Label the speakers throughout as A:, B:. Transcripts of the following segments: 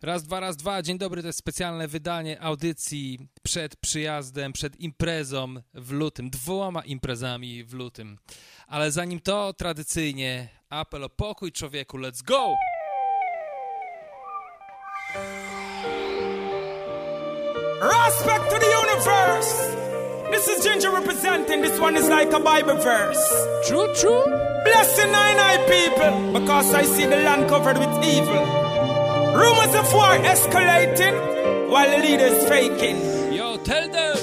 A: Raz, dwa. Dzień dobry, to jest specjalne wydanie audycji przed przyjazdem, przed imprezą w lutym, 2 imprezami w lutym. Ale zanim to, tradycyjnie apel o pokój człowieku, let's go!
B: Respect to the universe! This is Ginger representing, this one is like a Bible verse.
A: True.
B: Blessing I people, because I see the land covered with evil. Rumors of war escalating, while the leaders faking.
A: Yo, tell them!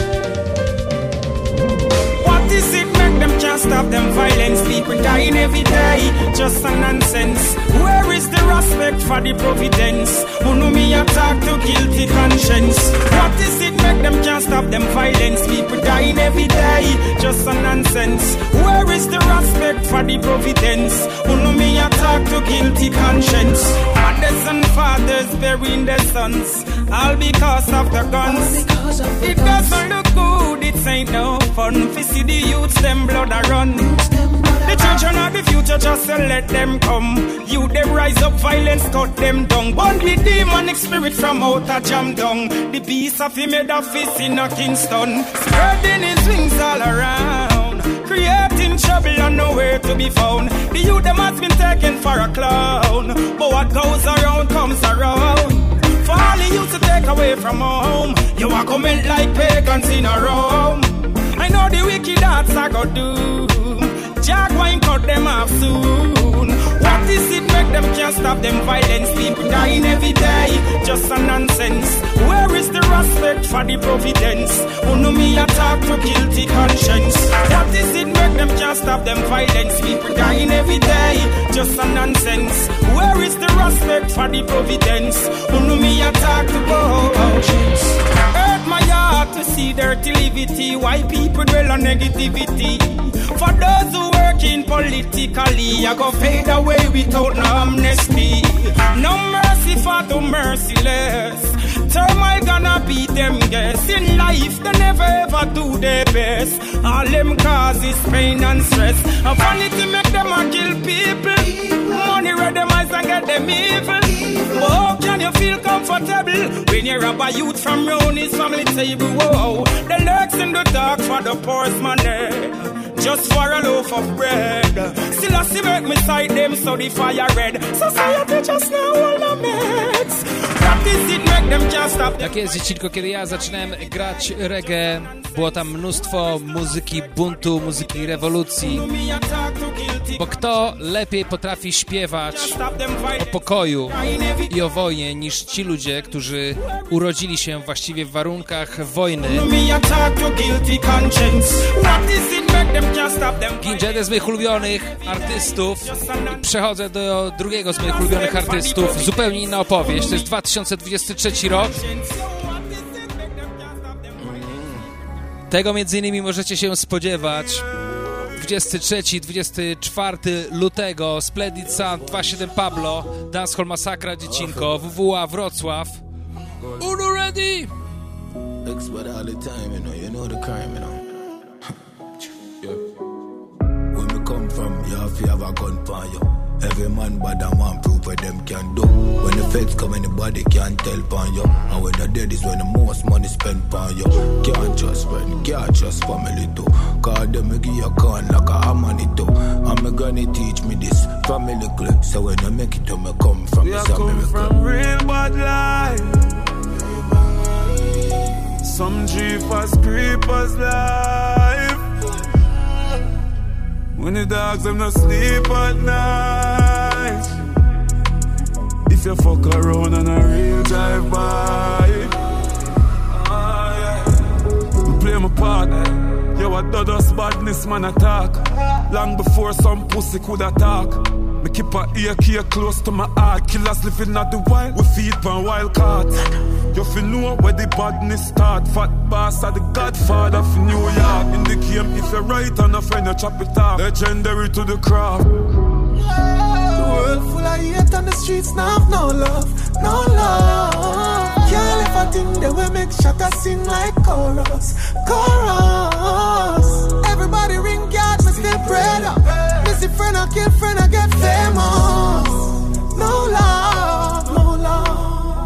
B: What is it make them can't stop them violence? People dying every day, just a nonsense. Where is the respect for the providence? Who know me attack to guilty conscience? What is it make them can't stop them violence? People dying every day, just a nonsense. Where is the respect for the providence? Who know me attack to guilty conscience? Mothers and fathers burying their sons, all because of the guns. It doesn't look good, it ain't no fun. We see the youths, them blood a run. The children of the future, just to let them come. You them rise up, violence cut them down. Burn the demonic spirit from out a jam down. The beast of him made of fist in a Kingston, spreading his wings all around, creating trouble and nowhere to be found. The youth them has been taken for a clown, but what goes around comes around. For all the youth to take away from home, you are coming like pagans in a Rome. I know the wicked hearts I go do. Jack wine cut them off soon. What is it make them can't stop them violence? People dying every day, just a nonsense. Where is the respect for the providence? Who know me attack to guilty conscience? What is it make them can't stop them violence? People dying every day, just a nonsense. Where is the respect for the providence? Who know me attack to conscience? Hurt my heart to see dirty livity. Why people dwell on negativity? For those who working politically, I go fade away without no amnesty. No mercy for the merciless. Turmoil gonna beat them guess. In life they never ever do their best. All them causes pain and stress. And vanity make them a kill people. Money red them eyes and get them evil. But how can you feel comfortable when you rob a youth from round his family table? Whoa, the lurks in the dark for the poor's money, just for a loaf of bread. Still I see make me side them so the fire red. Society just now all the meds. Practice it make them can't stop.
A: Tak jest, dziecinko, kiedy ja zaczynałem grać reggae, było tam mnóstwo muzyki buntu, muzyki rewolucji. Bo kto lepiej potrafi śpiewać o pokoju i o wojnie niż ci ludzie, którzy urodzili się właściwie w warunkach wojny. Ginger, jeden z moich ulubionych artystów. Przechodzę do drugiego z moich ulubionych artystów. Zupełnie inna opowieść. To jest 2023 rok. Tego między innymi możecie się spodziewać. 23-24 lutego Splendid Sound 2.7 Pablo, Dancehall Masakra, dziecinko, WWA Wrocław. Uno ready!
C: When we come from, you have to have a gun for you. Every man bad and one proof what them can do. When the feds come, anybody can't tell upon you. And when the dead is when the most money spent on you. Can't trust friend, can't trust family too. Cause them me give you a gun like a harmony too. And me granny teach me this family clip. So when I make it to me come from this America. We come from real bad life. Some jeepers, creepers life. When the dogs them not sleep at night. If you fuck around on a real drive by, we play my part. Yo, I do us badness man attack. Long before some pussy could attack. Me keep a AK close to my heart. Killers living at the wild, we feed pan wild cards. You feel know where the badness start. Fat boss are the godfather of New York. In the game, if you're right and a friend, you chop it off. Legendary to the craft.
D: The world full of hate on the streets, now have no love, no love. Can't live a thing that will make shatter sing like chorus, chorus. Everybody ring God, me still pray up. Missy friend, I kill friend, I get famous. No love, no love.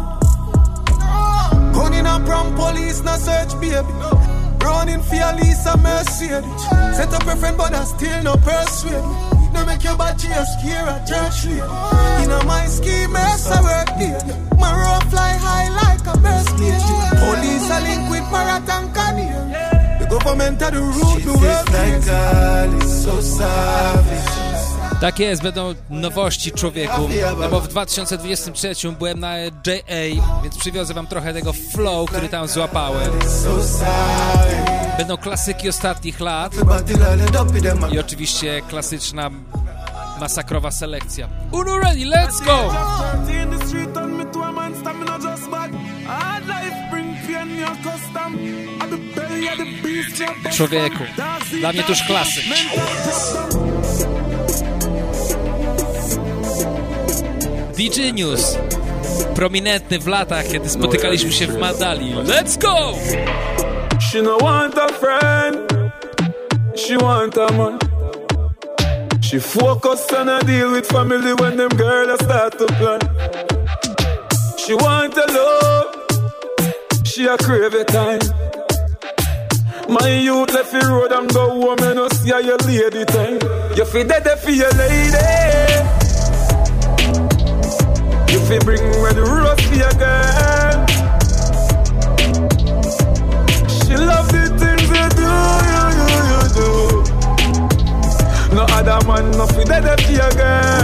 D: average baby. Running for your Lisa Mercedes. Set up your friend but I still no persuade. No make your body a scare a church lady. You know my scheme I work here. My road fly high like a bird cage. Police a link with Parrot and Canary. The government are the root to work so savage.
A: Tak jest, będą nowości, człowieku. No bo w 2023 byłem na JA, więc przywiozę wam trochę tego flow, który tam złapałem. Będą klasyki ostatnich lat i oczywiście klasyczna masakrowa selekcja. Uno ready, let's go! Człowieku, dla mnie to już klasyk. DJ News, prominentny w latach, kiedy spotykaliśmy się w Mandali. Let's go!
E: She no want a friend, she want a man. She focus on a deal with family when them girls start to plan. She want a love, she a crave a time. My youth left the road and go home and no see your lady time. You feel dead for your lady. You feel bring red rose for your girl. She love the things you do. No other man, no feel dead for your girl.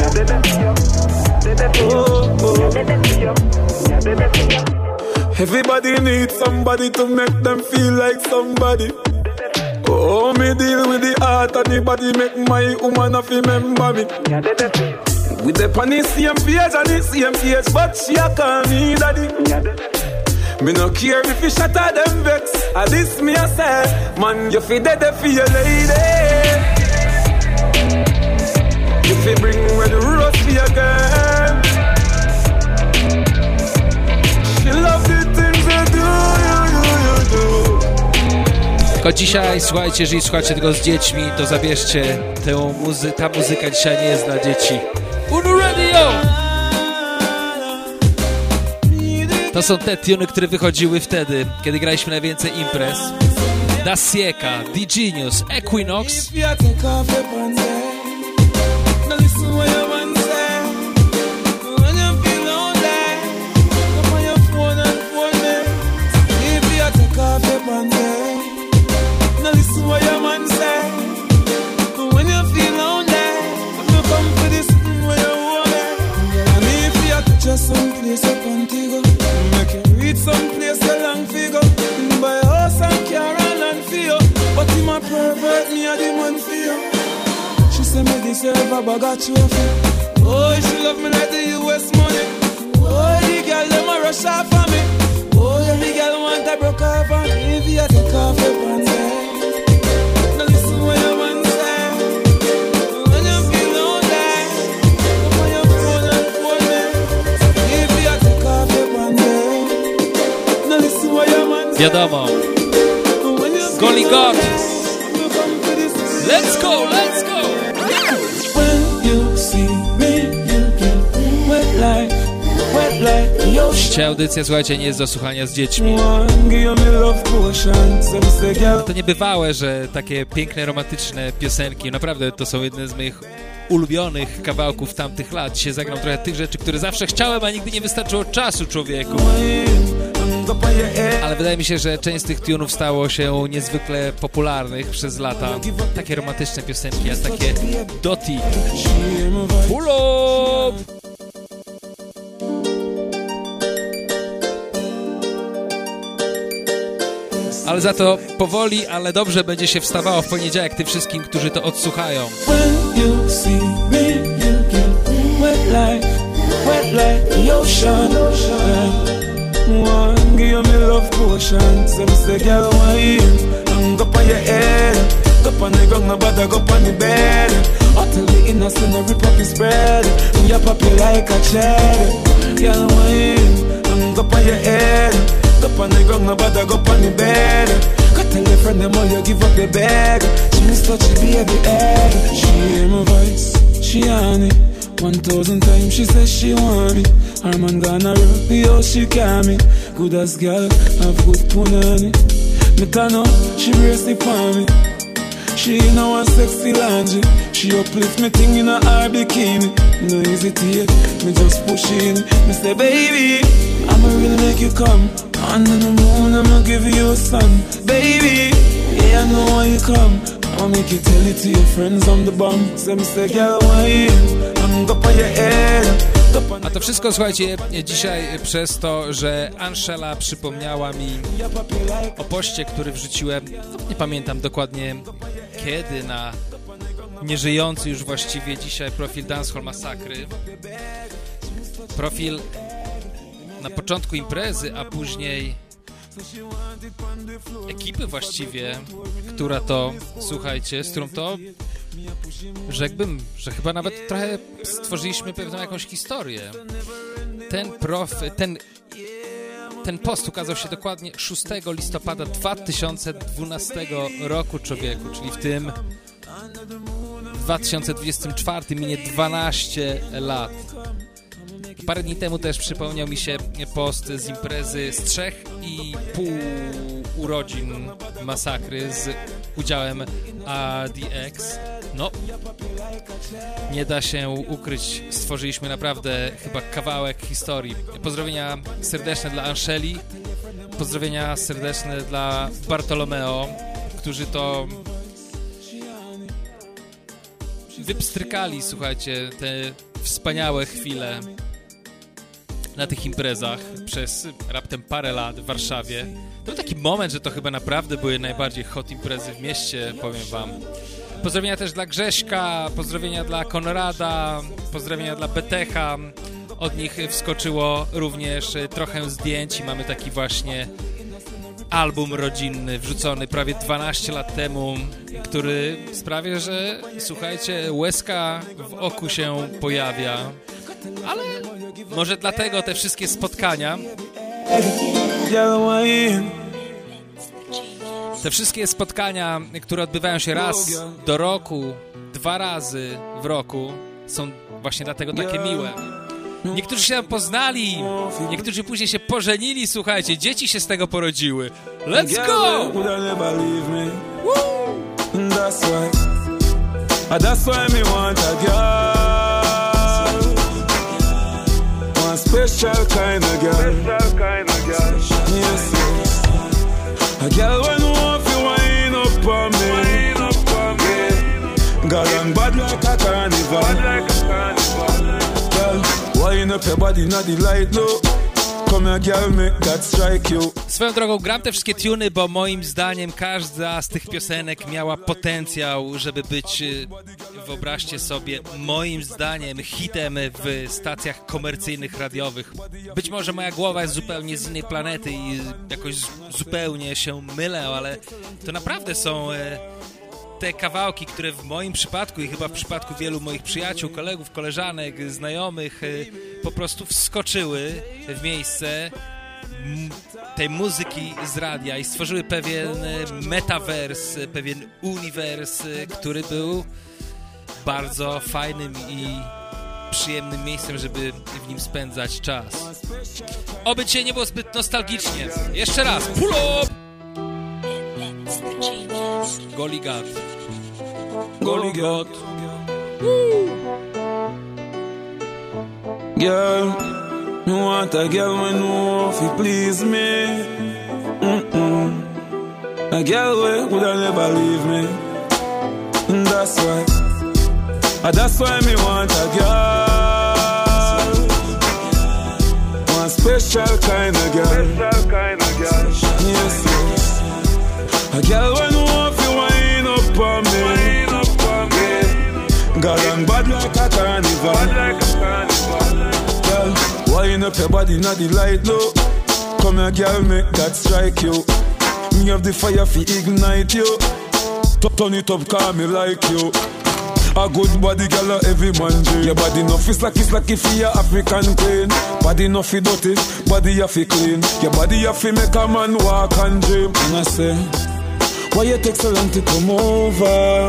E: Everybody needs somebody to make them feel like somebody. Oh, me deal with the heart and the body, make my woman of remember me. We the on the same page and the same case, but she a call me daddy. Me no care if you shatter them vex. At this me a say, man, you feel dead for your lady. You feel bring red rose for your girl. She love the things you do.
A: Tylko dzisiaj, słuchajcie, jeżeli słuchacie tego z dziećmi, to zabierzcie ta muzyka dzisiaj nie jest dla dzieci. Uno Radio! To są te tuny, które wychodziły wtedy, kiedy graliśmy najwięcej imprez. Da Sieca, DJ News, Equinox.
E: Some place up Antigua, make you read some place a long figure. Buy a house and car and land for you, but him a pervert, me a the man for you. She say me deserve a bag of trophy. Oh, she love me like the US money. Oh, the girl them a rush off for me. Oh, every girl want a broke off on me. If you take off your pants, now listen what your man say. When you feel lonely, come on your phone and phone me.
A: Wiadomo, Goli God. Let's go, let's go.
E: When you see me, you get wet like
A: Dzisiaj audycja, słuchajcie, nie jest do słuchania z dziećmi. To niebywałe, że takie piękne, romantyczne piosenki, naprawdę to są jedne z moich ulubionych kawałków tamtych lat. Dzisiaj zagram trochę tych rzeczy, które zawsze chciałem, a nigdy nie wystarczyło czasu, człowieku. Ale wydaje mi się, że część z tych tunów stało się niezwykle popularnych przez lata. Takie romantyczne piosenki, a takie Dotty. Pull up! Ale za to powoli, ale dobrze będzie się wstawało w poniedziałek tym wszystkim, którzy to odsłuchają.
E: Up on the ground, no bother go on the bed. Go tell your friend them all you give up your bag. She miss touch the baby egg. She hear my voice, she on it 1,000 times she says she want me. Her man gonna rock the house, she can me. Good as girl, have good pun on it. Me turn up, she brace it for me. She in a sexy lingerie. She uplift me thing in her bikini. No hesitate, me just push in. Me say, baby, I'ma really make you come. Under the moon, I'ma give you a sun. Baby, yeah, I know why you come. I'ma make you tell it to your friends I'm the bomb. So me say, girl, why I'm up on your head.
A: A to wszystko, słuchajcie, dzisiaj przez to, że Angela przypomniała mi o poście, który wrzuciłem, nie pamiętam dokładnie kiedy, na nieżyjący już właściwie dzisiaj profil Dancehall Masakry. Profil na początku imprezy, a później ekipy właściwie, która to, słuchajcie, z którą to rzekłbym, że chyba nawet trochę stworzyliśmy pewną jakąś historię. Ten post ukazał się dokładnie 6 listopada 2012 roku, człowieku, czyli w tym 2024 minie 12 lat. Parę dni temu też przypomniał mi się post z imprezy z 3,5 urodzin Masakry z udziałem ADX. No, nie da się ukryć, stworzyliśmy naprawdę chyba kawałek historii. Pozdrowienia serdeczne dla Angeli, pozdrowienia serdeczne dla Bartolomeo, którzy to wypstrykali, słuchajcie, te wspaniałe chwile na tych imprezach przez raptem parę lat w Warszawie. To był taki moment, że to chyba naprawdę były najbardziej hot imprezy w mieście, powiem wam. Pozdrowienia też dla Grześka, pozdrowienia dla Konrada, pozdrowienia dla Betecha. Od nich wskoczyło również trochę zdjęć i mamy taki właśnie album rodzinny wrzucony prawie 12 lat temu, który sprawia, że, słuchajcie, łezka w oku się pojawia. Ale może dlatego te wszystkie spotkania, które odbywają się raz do roku, 2 razy w roku, są właśnie dlatego takie miłe. Niektórzy się poznali, niektórzy później się pożenili, słuchajcie, dzieci się z tego porodziły. Let's go! That's why me want a girl. One special kind of girl. Yes, yes. A girl when want to wind up on me. Yeah. Girl and bad like a carnival. Girl, wind up your body, not the light, no. Swoją drogą gram te wszystkie tuny, bo moim zdaniem każda z tych piosenek miała potencjał, żeby być, wyobraźcie sobie, moim zdaniem hitem w stacjach komercyjnych radiowych. Być może moja głowa jest zupełnie z innej planety i jakoś zupełnie się mylę, ale to naprawdę są te kawałki, które w moim przypadku i chyba w przypadku wielu moich przyjaciół, kolegów, koleżanek, znajomych po prostu wskoczyły w miejsce tej muzyki z radia i stworzyły pewien metavers, pewien uniwers, który był bardzo fajnym i przyjemnym miejscem, żeby w nim spędzać czas. Oby dzisiaj nie było zbyt nostalgicznie. Jeszcze raz, pull up! Goligat. Goligat.
E: Girl, me want a girl when know if you please me. A girl wey woulda never leave me. That's why me want a girl. One special kind of girl. Yes, yes. A girl when know if you wind up on me. Yeah. Girl and bad like a carnival. Girl, wind up your body, not the light, no. Come here, girl, make that strike you. Me have the fire fi ignite you. Turn it up, call me like you. A good body, girl, every man dream. Your body no fist like if you African queen. Body no fi dirty, body you fi clean. Your body you fi make a man walk and dream. And I say, why you take so long to come over?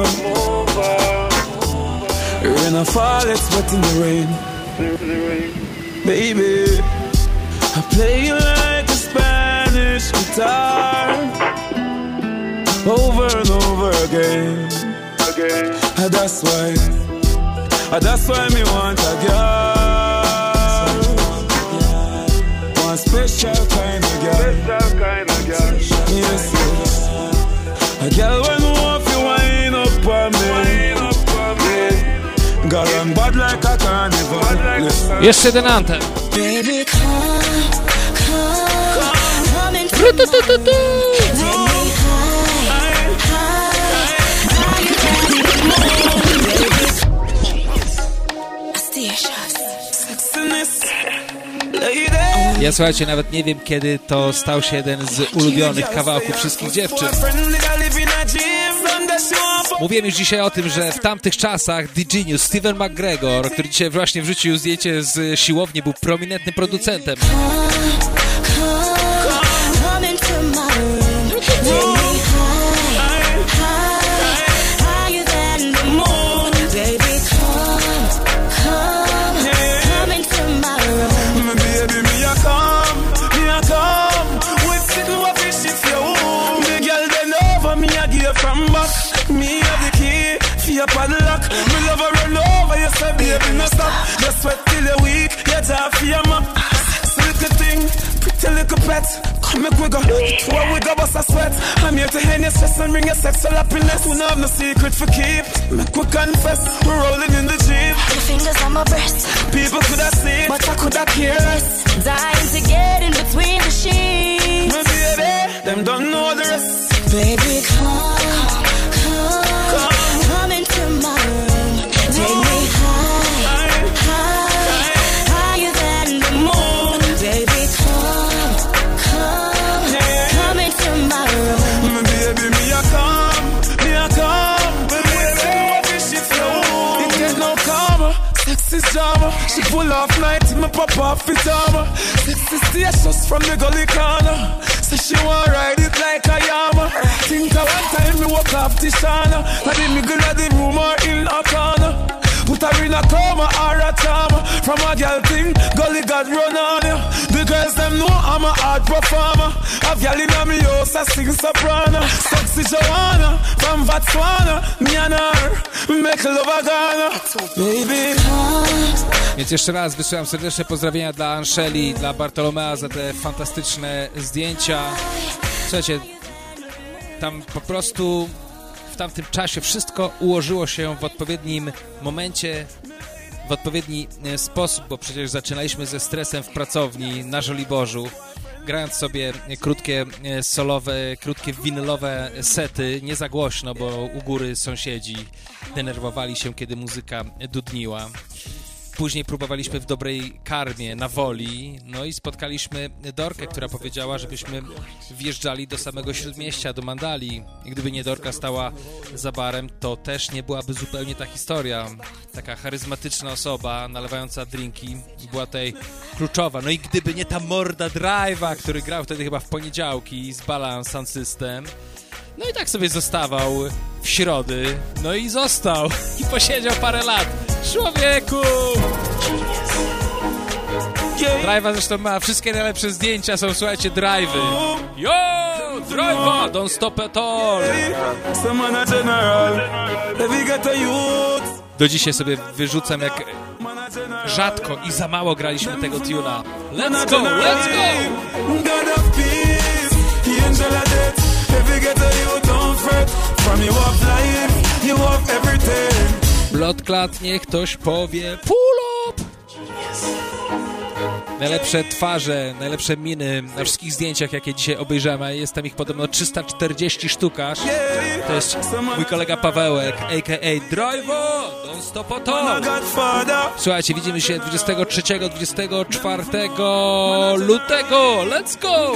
E: Rain and fall, it's wet in the rain. Baby, I play you like a Spanish guitar. again. That's why me want a girl. One special kind of girl. Yes, a girl when want to wind up on me. Girl I'm bad like a carnival.
A: Jeszcze jeden anthem.
F: Baby, come into
A: Ja, słuchajcie, nawet nie wiem, kiedy to stał się jeden z ulubionych kawałków wszystkich dziewczyn. Mówiłem już dzisiaj o tym, że w tamtych czasach D-Genius, Steven McGregor, który dzisiaj właśnie wrzucił zdjęcie z siłowni, był prominentnym producentem.
E: Padlock, me love her run over, you say baby no stop. You sweat till you're weak, you just feel my little thing, pretty little pet. Come make we go, where we go bust a sweat. I'm here to hand your stress and bring your sexual happiness. We don't have no secret for keep, make we confess. We're rolling in the Jeep.
F: Your fingers on my breast,
E: people could have seen,
F: but I could have cared. Dying to get in between the sheets.
E: My baby, them don't know the rest.
F: Baby, come into my room. Take me higher than the moon. Baby, come into my room.
E: Baby, me a come. Baby, what is she flow? It get no calmer. Sexy drama. She pull off night, me pop off pyjama. Sexy stations from the gully corner. So she want ride it like a yama. Think of one time me walk off Tishana. I did me good at the room or in a corner. Put her in a coma or a trauma. From a girl thing, gully got run on you. The girls them know I'm a hard performer. A girl in a me house, I sing soprano. Sexy Joanna, from Botswana. Me and her, make love a Ghana. Baby.
A: Więc jeszcze raz wysyłam serdeczne pozdrowienia dla Anszeli, dla Bartolomea za te fantastyczne zdjęcia. Słuchajcie, tam po prostu w tamtym czasie wszystko ułożyło się w odpowiednim momencie, w odpowiedni sposób, bo przecież zaczynaliśmy ze stresem w pracowni na Żoliborzu, grając sobie krótkie solowe, krótkie winylowe sety, nie za głośno, bo u góry sąsiedzi denerwowali się, kiedy muzyka dudniła. Później próbowaliśmy w dobrej karmie, na Woli, no i spotkaliśmy Dorkę, która powiedziała, żebyśmy wjeżdżali do samego Śródmieścia, do Mandali. I gdyby nie Dorka stała za barem, to też nie byłaby zupełnie ta historia. Taka charyzmatyczna osoba, nalewająca drinki, była tutaj kluczowa. No i gdyby nie ta morda Drive'a, który grał wtedy chyba w poniedziałki z Balance Sound System, no i tak sobie zostawał w środy, no i został i posiedział parę lat. Człowieku! Drive'a zresztą ma wszystkie najlepsze zdjęcia, są, słuchajcie, Drive'y. Yo! Drive'a! Don't stop at all! Do dzisiaj sobie wyrzucam, jak rzadko i za mało graliśmy tego tuna. Let's go! Let's go! Bloodclad, niech ktoś powie pull up! Najlepsze twarze, najlepsze miny na wszystkich zdjęciach, jakie dzisiaj obejrzałem, a jest tam ich podobno 340 sztuk aż. To jest mój kolega Pawełek, a.k.a. Driver, don't stop at all. Słuchajcie, widzimy się 23-24 lutego. Let's go!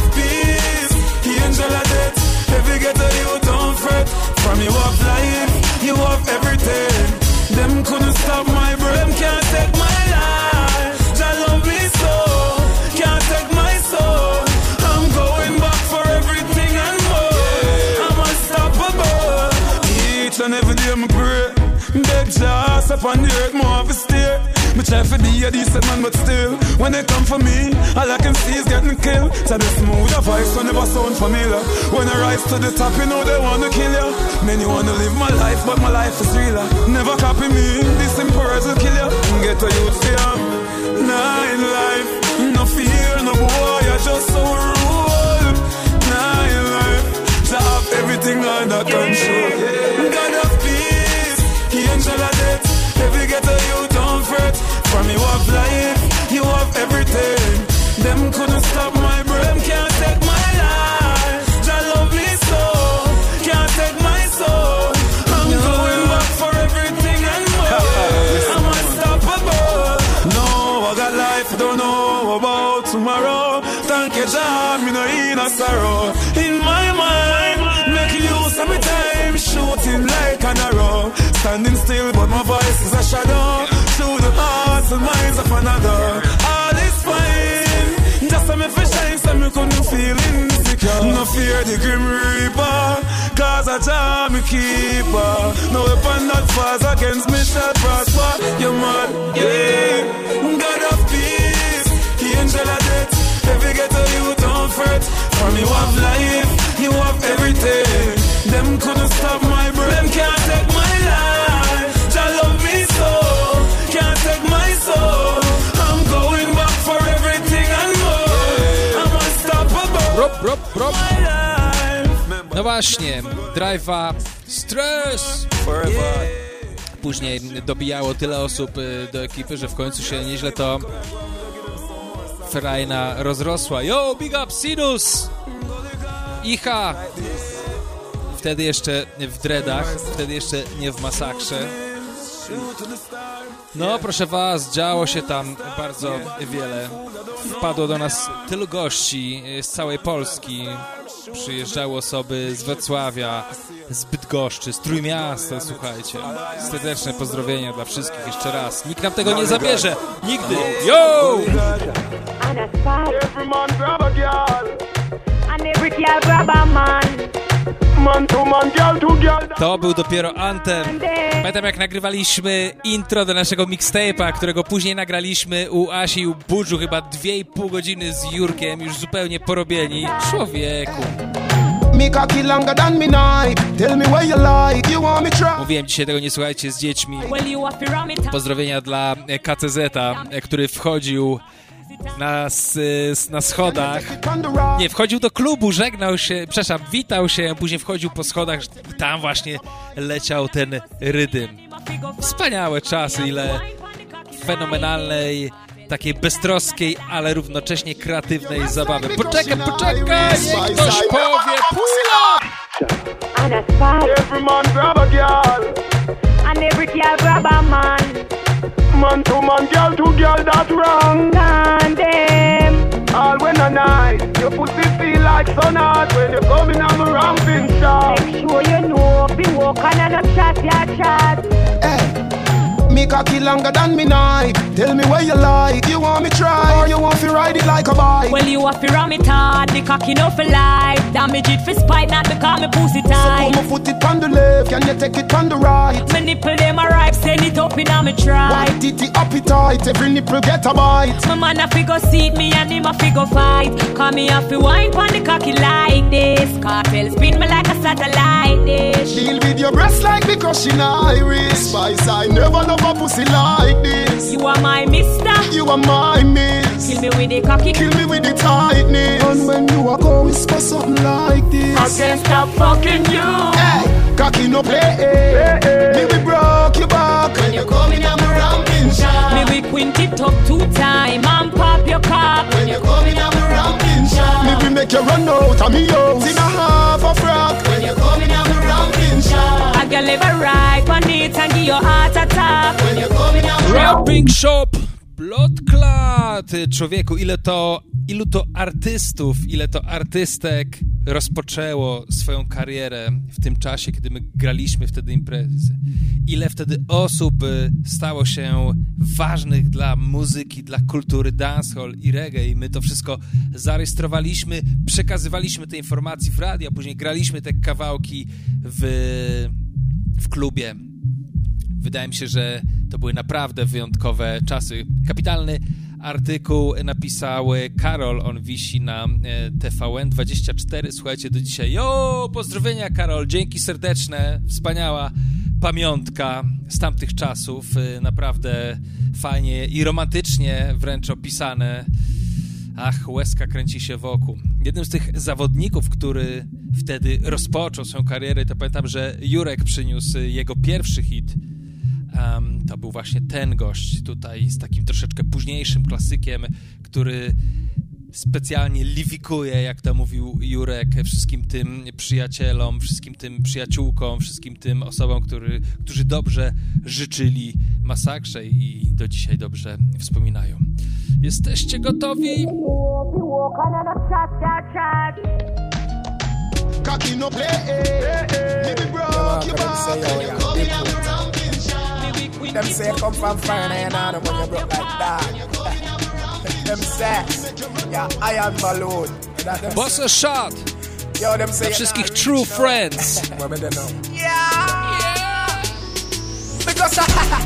A: From you up life, you up everything. Them couldn't stop my breath, them can't take my life. Jah love me so, can't take my soul. I'm going back for everything and more. I'm unstoppable. Each and every day I pray, beg Jah up on the earth, more of a steer. Me
E: Try to be a decent man, but still, when they come for me, all I can see is getting killed. So the smoother voice will never sound familiar. When I rise to the top, you know they wanna kill you. Many wanna live my life, but my life is realer. Never copy me, this simple words will kill you. Get a youth fear. Nah, in life, no fear, no boy, I just so rule. Nah, in life, to have everything under control. God of peace, angel of death. Every ghetto you don't fret. From you have life, you have everything. Them couldn't stop my brain, can't take my life. Jah love me so, can't take my soul. I'm going back for everything and more. I'm unstoppable. No, I got life, don't know about tomorrow. Thank you, Jah, me no in a sorrow. In my mind, making use of my time, shooting like an arrow. Standing still, but my voice is a shadow. Through the hearts and minds of another. All is fine. Just a me for shine, so me couldn't feel insecure. No fear the grim reaper, cause I Jah me keeper. No weapon that falls against me shall prosper. You man, yeah. God of peace, angel of death. Every ghetto you don't fret. From you have life, you have everything. Them couldn't stop my brain. Them can't take my life. Jah love me so, can't take my soul. I'm going back for everything and more. I'm unstoppable. My life.
A: No właśnie, Drive'a Stres! Później dobijało tyle osób do ekipy, że w końcu się nieźle to frajna rozrosła. Yo, big up Sinus! Icha! Wtedy jeszcze w dreadach, wtedy jeszcze nie w masakrze. No, proszę was, działo się tam bardzo wiele. Wpadło do nas tylu gości z całej Polski. Przyjeżdżały osoby z Wrocławia, z Bydgoszczy, z Trójmiasta, słuchajcie. Serdeczne pozdrowienia dla wszystkich jeszcze raz. Nikt nam tego nie zabierze. Nigdy. Yo! To był dopiero Anthem. Pamiętam, jak nagrywaliśmy intro do naszego mixtape'a, którego później nagraliśmy u Asi i u Budżu, chyba 2,5 godziny z Jurkiem, już zupełnie porobieni. Człowieku. Mówiłem dzisiaj, tego nie słuchajcie z dziećmi. Pozdrowienia dla KCZ-a, który wchodził na schodach. Nie, wchodził do klubu, żegnał się, przepraszam, witał się, później wchodził po schodach i tam właśnie leciał ten rytm. Wspaniałe czasy, ile fenomenalnej, takiej beztroskiej, ale równocześnie kreatywnej zabawy. Poczekaj, niech ktoś powie, pula! Every man grab a girl, and every girl grab a man. Man to man, girl to girl, that's wrong. And them all when a night, your pussy feel like sun hot when you coming on my ramping shot. Make sure you know, be walking and a chat, ya chat. Hey. Me cocky longer than me knife. Tell me where you like. You want me try or you want to ride it like a bike? Well, you have to ram it hard. The cocky no for life. Damage it for spite, not because me pussy tight. So come put it on the left, can you take it on the right? My nipple them a ripe, send it up in a me try. White titty appetite, every nipple get a bite. My man a figure seat me and him a figure fight. Cause me have to wine pon the cocky like this. Cartel spin me like a satellite dish. Deal with your breast like because she Irish. Spice I never love a pussy like this. You are my mister, you are my miss. Kill me with the cocky, kill me with the tightness. And when you are go whisper something like this, I can't stop fucking you. Hey, cocky no play, me we broke your back when you coming on my ramping shot. Me we quint it up 2 times and pop your cock when you coming on my ramping shot. Me we make you run out of me house in a half a frock when you coming on my ramping shot. I can live a right on it and give your heart attack when you coming on my ramping shop. Bloodclad! Człowieku, ilu to artystów, ile to artystek rozpoczęło swoją karierę w tym czasie, kiedy my graliśmy wtedy imprezy. Ile wtedy osób stało się ważnych dla muzyki, dla kultury dancehall i reggae. I my to wszystko zarejestrowaliśmy, przekazywaliśmy te informacje w radio, a później graliśmy te kawałki w klubie. Wydaje mi się, że To były naprawdę wyjątkowe czasy. Kapitalny artykuł napisał Karol, on wisi na TVN24. Słuchajcie, do dzisiaj. Jo, pozdrowienia Karol, dzięki serdeczne, wspaniała pamiątka z tamtych czasów. Naprawdę fajnie i romantycznie wręcz opisane. Ach, łezka kręci się wokół. Jednym z tych zawodników, który wtedy rozpoczął swoją karierę, to pamiętam, że Jurek przyniósł jego pierwszy hit. To był właśnie ten gość tutaj z takim troszeczkę późniejszym klasykiem, który specjalnie liwikuje, jak to mówił Jurek, wszystkim tym przyjacielom, wszystkim tym przyjaciółkom, wszystkim tym osobom, którzy dobrze życzyli masakrze i do dzisiaj dobrze wspominają. Jesteście gotowi?
G: Them say come from fire and I don't want you broke like that. Them say, yeah, iron balloon.
A: Boss a shot.
G: Yo, them say
A: dla wszystkich true friends.
G: Yeah. Because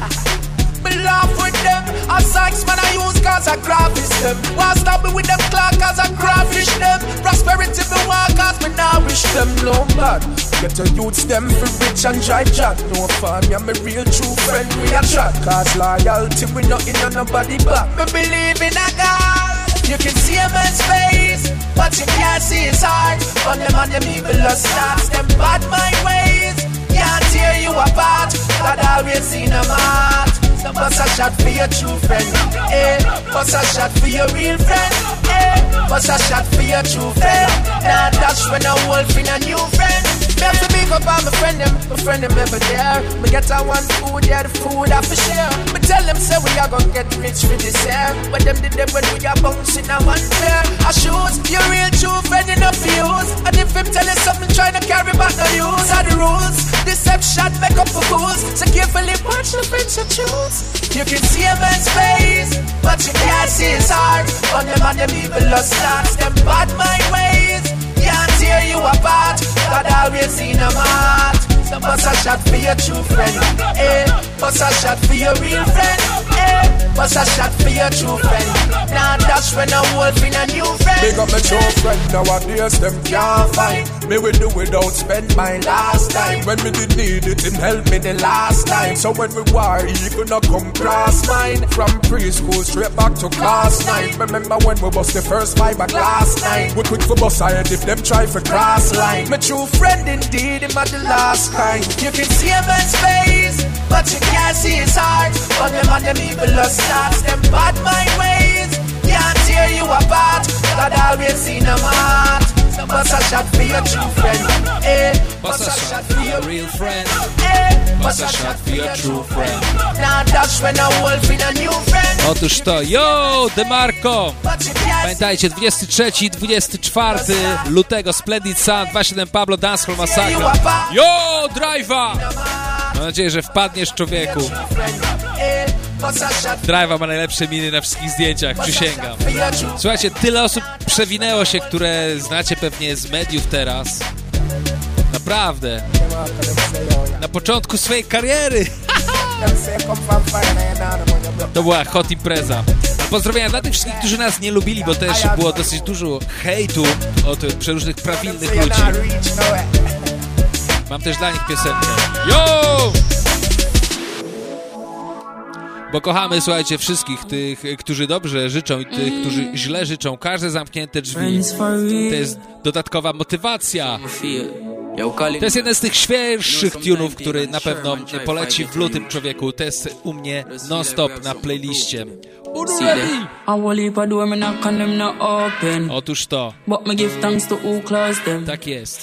G: me laugh with them. A science man I use cause I graphish them. Why stop me with them clock cause I graphish them. Prosperity me want cause me now wish them no bad. Get your youths them for rich and dry chat. No fun, yeah me real true friend we a chat. Cause loyalty we not in on nobody back. Me believe in a God. You can see a man's face, but you can't see his heart. On them and them evil starts, them bad mind ways can't tear you apart. God always in a heart. So bust a shot for your true friend, eh? Bust a shot for your real friend, eh? Bust a shot for your true friend. Now that's when a wolf in a new friend. Me have to big up on my friend them ever there. Me get a one food, yeah, the food I for share. Me tell them say we are gonna get rich for this year. But them did them when we are bouncing a one pair of shoes. Your real true friend enough for use. And if him tell you something, try to carry back the news. Are the rules, deception make up for fools. So carefully watch the friends you choose. You can see a man's face, but you can't see his heart. On them and them evil starts, them bad mind ways can't tear you apart. God always in a heart. So bust a shot for your true friend, eh? Bust a shot for your real friend, eh? Bust a shot for your true friend. Now that's when a wolf in a new friend. Big up my true friend, nowadays them can't find me will do without spend my last time. When me did need it, him help me the last time. So when we war, he gonna come cross mine. From preschool straight back to class 9. Remember when we bust the first fiberglass 9. We quick for bust head if them try for cross line. My true friend indeed, him at the last kind. You can see a man's face, but you can't see his heart. On them and them evil starts, them bad mind ways can't tear you apart. God always in a heart. So bust a shot for your true friend, eh?
A: Bust a shot for your real friend,
G: eh?
A: Bust a shot for your true friend.
G: Now that's when a wolf in a new friend.
A: Otóż to, yo, DeMarco! Pamiętajcie, 23-24 lutego, Splendid Sun, 27 Pablo, Dancehall Massacre. Yo, Drive'a! Mam nadzieję, że wpadniesz, człowieku. Drive'a ma najlepsze miny na wszystkich zdjęciach, przysięgam. Słuchajcie, tyle osób przewinęło się, które znacie pewnie z mediów teraz. Naprawdę. Na początku swojej kariery. To była hot impreza. Pozdrowienia dla tych wszystkich, którzy nas nie lubili, bo też było dosyć dużo hejtu od przeróżnych prawilnych ludzi. Mam też dla nich piosenkę. Yo! Bo kochamy, słuchajcie, wszystkich tych, którzy dobrze życzą i tych, którzy źle życzą. Każde zamknięte drzwi to jest dodatkowa motywacja. To jest jeden z tych świeższych tunów, który na pewno poleci w lutym, człowieku. To jest u mnie non-stop na playliście. Otóż to. Tak jest.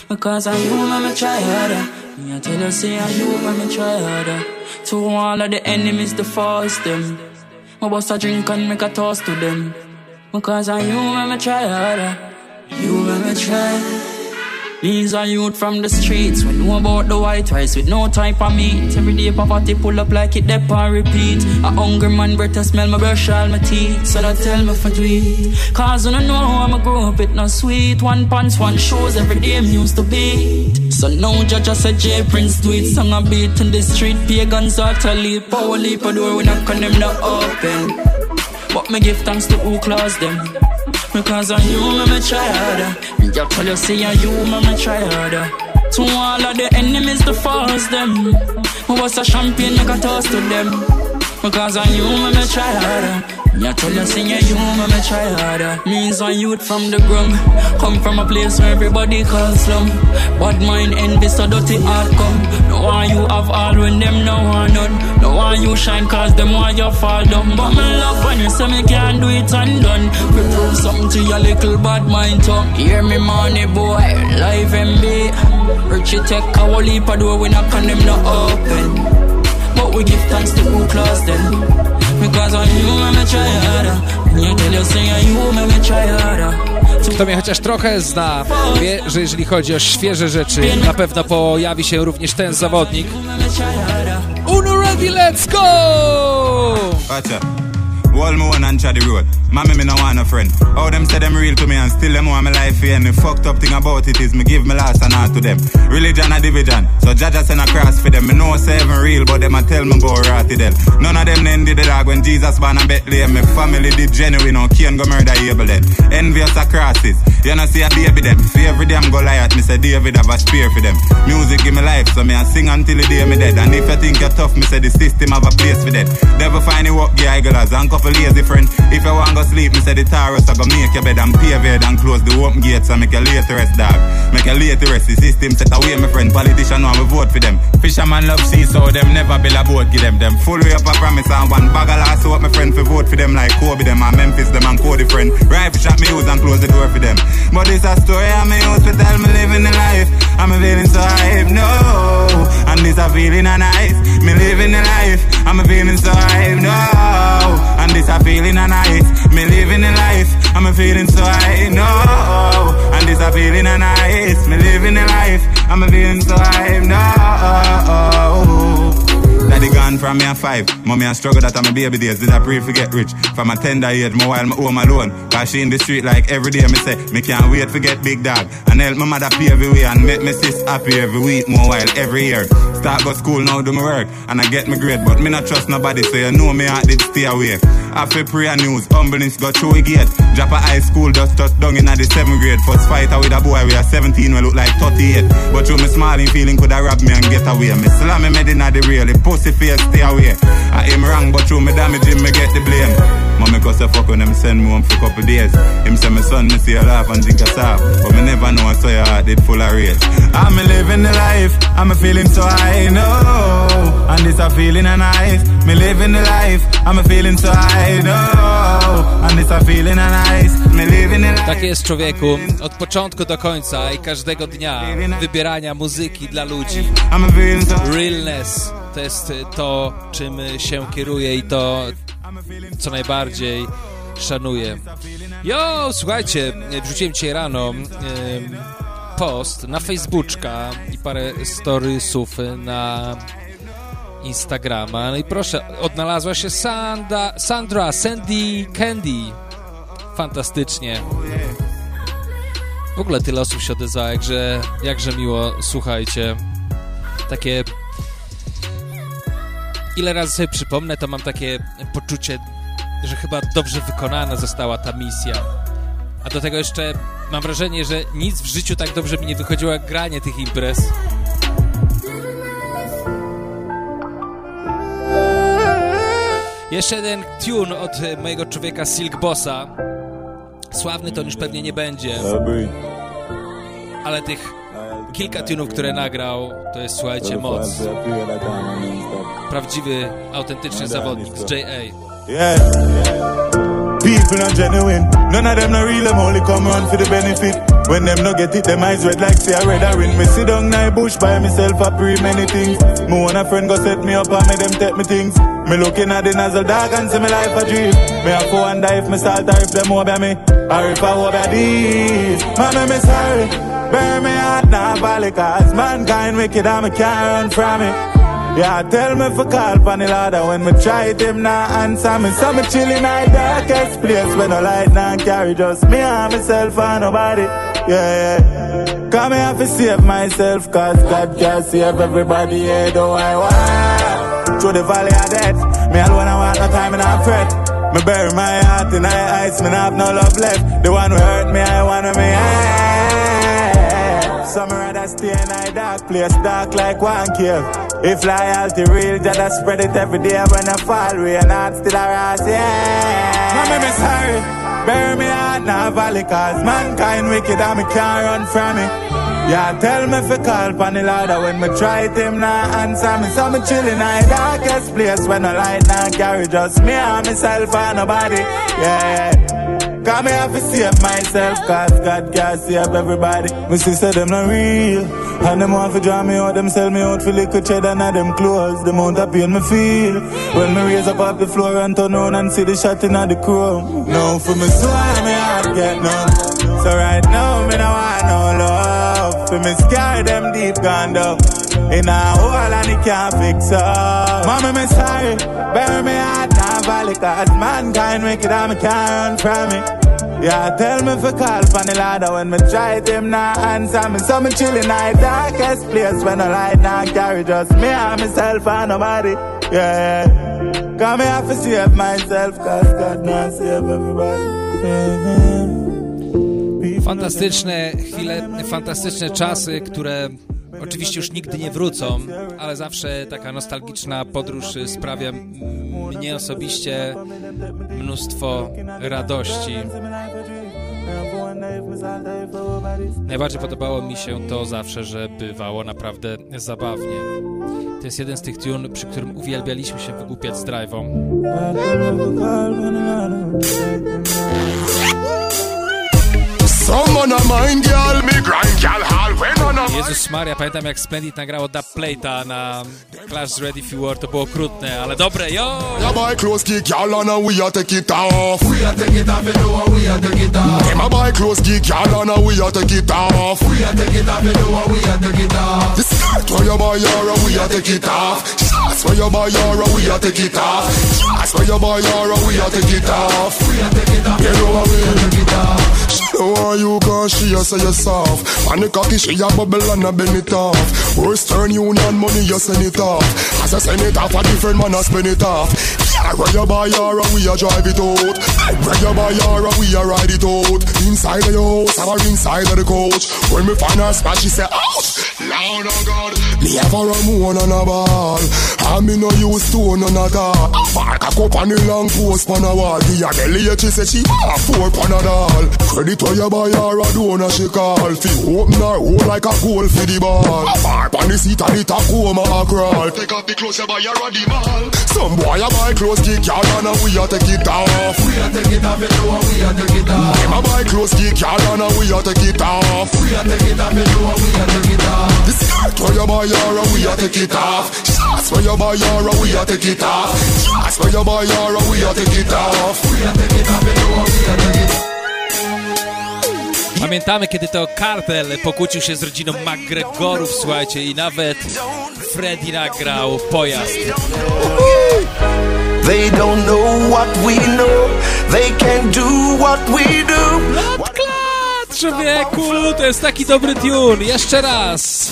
H: To all of the enemies to force them. I bust a drink and make a toast to them. Because I you make me try harder. You make me try. These are youth from the streets. We know about the white rice with no type of meat. Every day poverty pull up like it dep and repeat. A hungry man breath to smell my brush all my teeth. So that tell me for tweet. Cause I don't know how I'ma grow up, it not sweet. One pants, one shoes, every day me used to beat. So now judge us a J Prince do it. Song a beat in the street, pagans are to leap. Power leap a door, we knock on them not open. But me give thanks to who close them. Because on you, me try harder. Me just tell you, say on you, me try harder. To all of the enemies to force them. Who was a champion, make a toast to them. Because on you, me try harder. Me tell you, say on you, me try harder. Means on youth from the ground. Come from a place where everybody calls slum. Bad mind, envy, so dirty heart come. No one you have all when them no one none. No one you shine cause them want you fall down. But me love when you say me can't do it undone. We prove something to your little bad mind tongue. Hear me money boy, live MB. Richie take a whole heap of door, we knock on them not open. But we give thanks to who close them. Because on you, me try harder. You tell you say on you, me try harder.
A: Kto mnie chociaż trochę zna, wie, że jeżeli chodzi o świeże rzeczy, na pewno pojawi się również ten zawodnik. Uno ready, let's go!
I: Gotcha. Wall me one and the road. Mommy, me no want no friend. All them say them real to me and still them want my life here. And the fucked up thing about it is me give me last and all to them. Religion a division, so Jaja send a cross for them. Me know say even real, but them a tell me go rotty them. None of them then did the dog when Jesus born in Bethlehem. Me family did genuine, no Cain go murder Abel then. Envious a crosses, you know see a baby them. See every day I'm go lie at me say David have a spear for them. Music give me life, so me a sing until the day me dead. And if you think you're tough, me say the system have a place for them. Never find it work, yeah, igglers and couple lazy friend. If you want go sleep, me say the Taurus I go make your bed and pave it and close the open gates and make you late rest, dog. Make you late rest, the system set away, my friend. Politician want me vote for them. Fisherman love sea, so them never build a boat, give them. Them full way up a promise and one bag of last hope, my friend, for vote for them like Kobe them and Memphis them and Cody friend. Rifle shot me use and close the door for them. But it's a story I'm a use to tell me living the life. I'm a feeling so hype, no. And this a feeling a nice. Me living the life. I'm a feeling so hype, no. And this a feeling a nice. Me living the life. I'm a feeling so hype, no. And this a feeling a nice. Me living the life. I'm a feeling so hype, no. Daddy gone from me at 5. Mommy I struggle that I'm a baby days. Did I pray to get rich? From a tender age, more while me home alone. Cause she in the street like every day me say, me can't wait to get big dog. And help my mother pay every way and make me sis happy every week, more while every year. Start go school now do my work and I get me grade. But me not trust nobody, so you know me heart did stay away. After prayer news, humbleness got through a gate. Drop a high school, just touch down in the 7th grade. First fighter with a boy, we are 17, we look like 38. But through me smiling feeling could have robbed me and get away. Me slam me made in the real, the pussy face stay away. I aim wrong, but through me damage him, me get the blame. Mommy cause I fuck when them send me home for a couple days. Him say my son, me see a laugh and drink a sap. But me never know I saw your heart did full of rage. I'm living the life, I'm feeling so high, no. And this a feeling a nice. Me living the life, I'm feeling so high, no. And this a feeling a nice. Me living the life.
A: Tak jest, człowieku, od początku do końca i każdego dnia wybierania muzyki dla ludzi. Realness to jest to, czym się kieruję i to, co najbardziej szanuję. Jo, słuchajcie, wrzuciłem dzisiaj rano post na Facebooka i parę storiesów na Instagrama. No i proszę, odnalazła się Sandra Sandy Candy. Fantastycznie. W ogóle tyle osób się odezwało, jakże miło, słuchajcie. Takie... Ile razy sobie przypomnę, to mam takie poczucie, że chyba dobrze wykonana została ta misja. A do tego jeszcze mam wrażenie, że nic w życiu tak dobrze mi nie wychodziło jak granie tych imprez. Jeszcze jeden tune od mojego człowieka Silk Bossa. Sławny to już pewnie nie będzie. Ale tych kilka tunów, które nagrał, to jest, słuchajcie, moc. Prawdziwy, autentyczny zawodnik z J.A.
J: Yeah. Big people not genuine. None of them not real, them only come run for the benefit. When them no get it, them eyes red like say I red a ring. Me sit down in bush by myself, I pray many things. Me want a friend go set me up and me them take me things. Me looking at the nozzle dog and see me life a dream. Me have to wonder if me start or if them over me, or if I over these. Mama, me sorry, bury me heart now valley, cause mankind wicked and me can't run from it. Yeah, tell me for call pan the ladder when me try it, him nah answer me. So me chill in the darkest place when no light nah carry, just me and myself and nobody. Yeah. Come here to save myself, cause God can save everybody, yeah, though I want. Through the valley of death, me alone I want no time and I fret. Me bury my heart in the ice, me not have no love left. The one who hurt me, I want me, yeah. Some rather stay in a dark place, dark like one cave. If loyalty real, just spread it every day when I fall, we are not still around, yeah. Mama, me sorry. Bury me heart now valley, cause mankind wicked and me can't run from it. Yeah, tell me for call pan the ladder when me try it, him nah answer me. So me chill in the darkest place when no light nah carry, just me and myself and nobody. Yeah. Cause me have to save myself, cause God can't save everybody. Me sister them not real, and them want to draw me out, them sell me out for liquor cheddar and them clothes. The amount of pain me feel when me raise up off the floor and turn on and see the shot in the chrome. No, for me so me heart get numb. So right now me no want no love. For me scare them deep gone down in a hole and it can't fix up. Mama, me sorry, bury me heart now valley, cause mankind wicked and me can't run from it. Yeah, tell me for call pan the ladder when me try it, him nah answer me. So me chill in the darkest place when no light nah carry, just me and myself and nobody. Yeah, cause me have to save myself, cause God nah save everybody.
A: Fantastyczne chwile, fantastyczne czasy, które oczywiście już nigdy nie wrócą, ale zawsze taka nostalgiczna podróż sprawia mnie osobiście mnóstwo radości. Najbardziej podobało mi się to zawsze, że bywało naprawdę zabawnie. To jest jeden z tych tune, przy którym uwielbialiśmy się wygłupiać z drive'ą. Jezus Maria, pamiętam jak Splendid nagrało Dub Plate'a na Clash Ready If You Were, to było okrutne, ale dobre, yo!
K: Yeah, buy clothes, geek, y'all, and we a take it off. We a take it off, you know, we a take it off. Them a buy clothes, geek, y'all, and we a take it off. We a take it off, you know, we a take it off. The skirt where you buy your, we a take it off. Shots where you buy your, we a take it off. Shots where you buy your, we a take it off. We a take it off, you know, we a take it off. She know how you cause she a say you soft. And the cocky she a bubble and a bend it off. Western Union money you send it off. As I send it off, a different man a spend it off. Where you buy your, we a drive it out. Where you buy your, we a ride it out. Inside of your house or inside of the coach. When me find her spot, she say, ouch! Lord of God, me have a Ramon and a ball. And me no use stone none at all. Park a cup on the long post pan a wall. The Adelia, she say she a 4 Panadol. Credit where you buy her a donor she call. Fi open her hole like a goal for the ball. Park on the seat of the Tacoma a crawl. Take off the clothes you buy her a the mall. Some boy a buy clothes kick y'all and we a take it off. We a take it off, you know we a take it off. Them a buy clothes kick y'all and we a take it off. We a take it off, you know we a take it off. The skirt where you buy your, we a take it off. Shots where you buy your, we a take it off. Shots where you buy your, we a take it off. We a take it off, you know we a take it off.
A: Pamiętamy, kiedy to Kartel pokłócił się z rodziną McGregorów, słuchajcie, i nawet Freddy nagrał Pojazd.
L: They don't know what we know. They can't do what we do.
A: Klat, człowieku, to jest taki dobry tune. Jeszcze raz.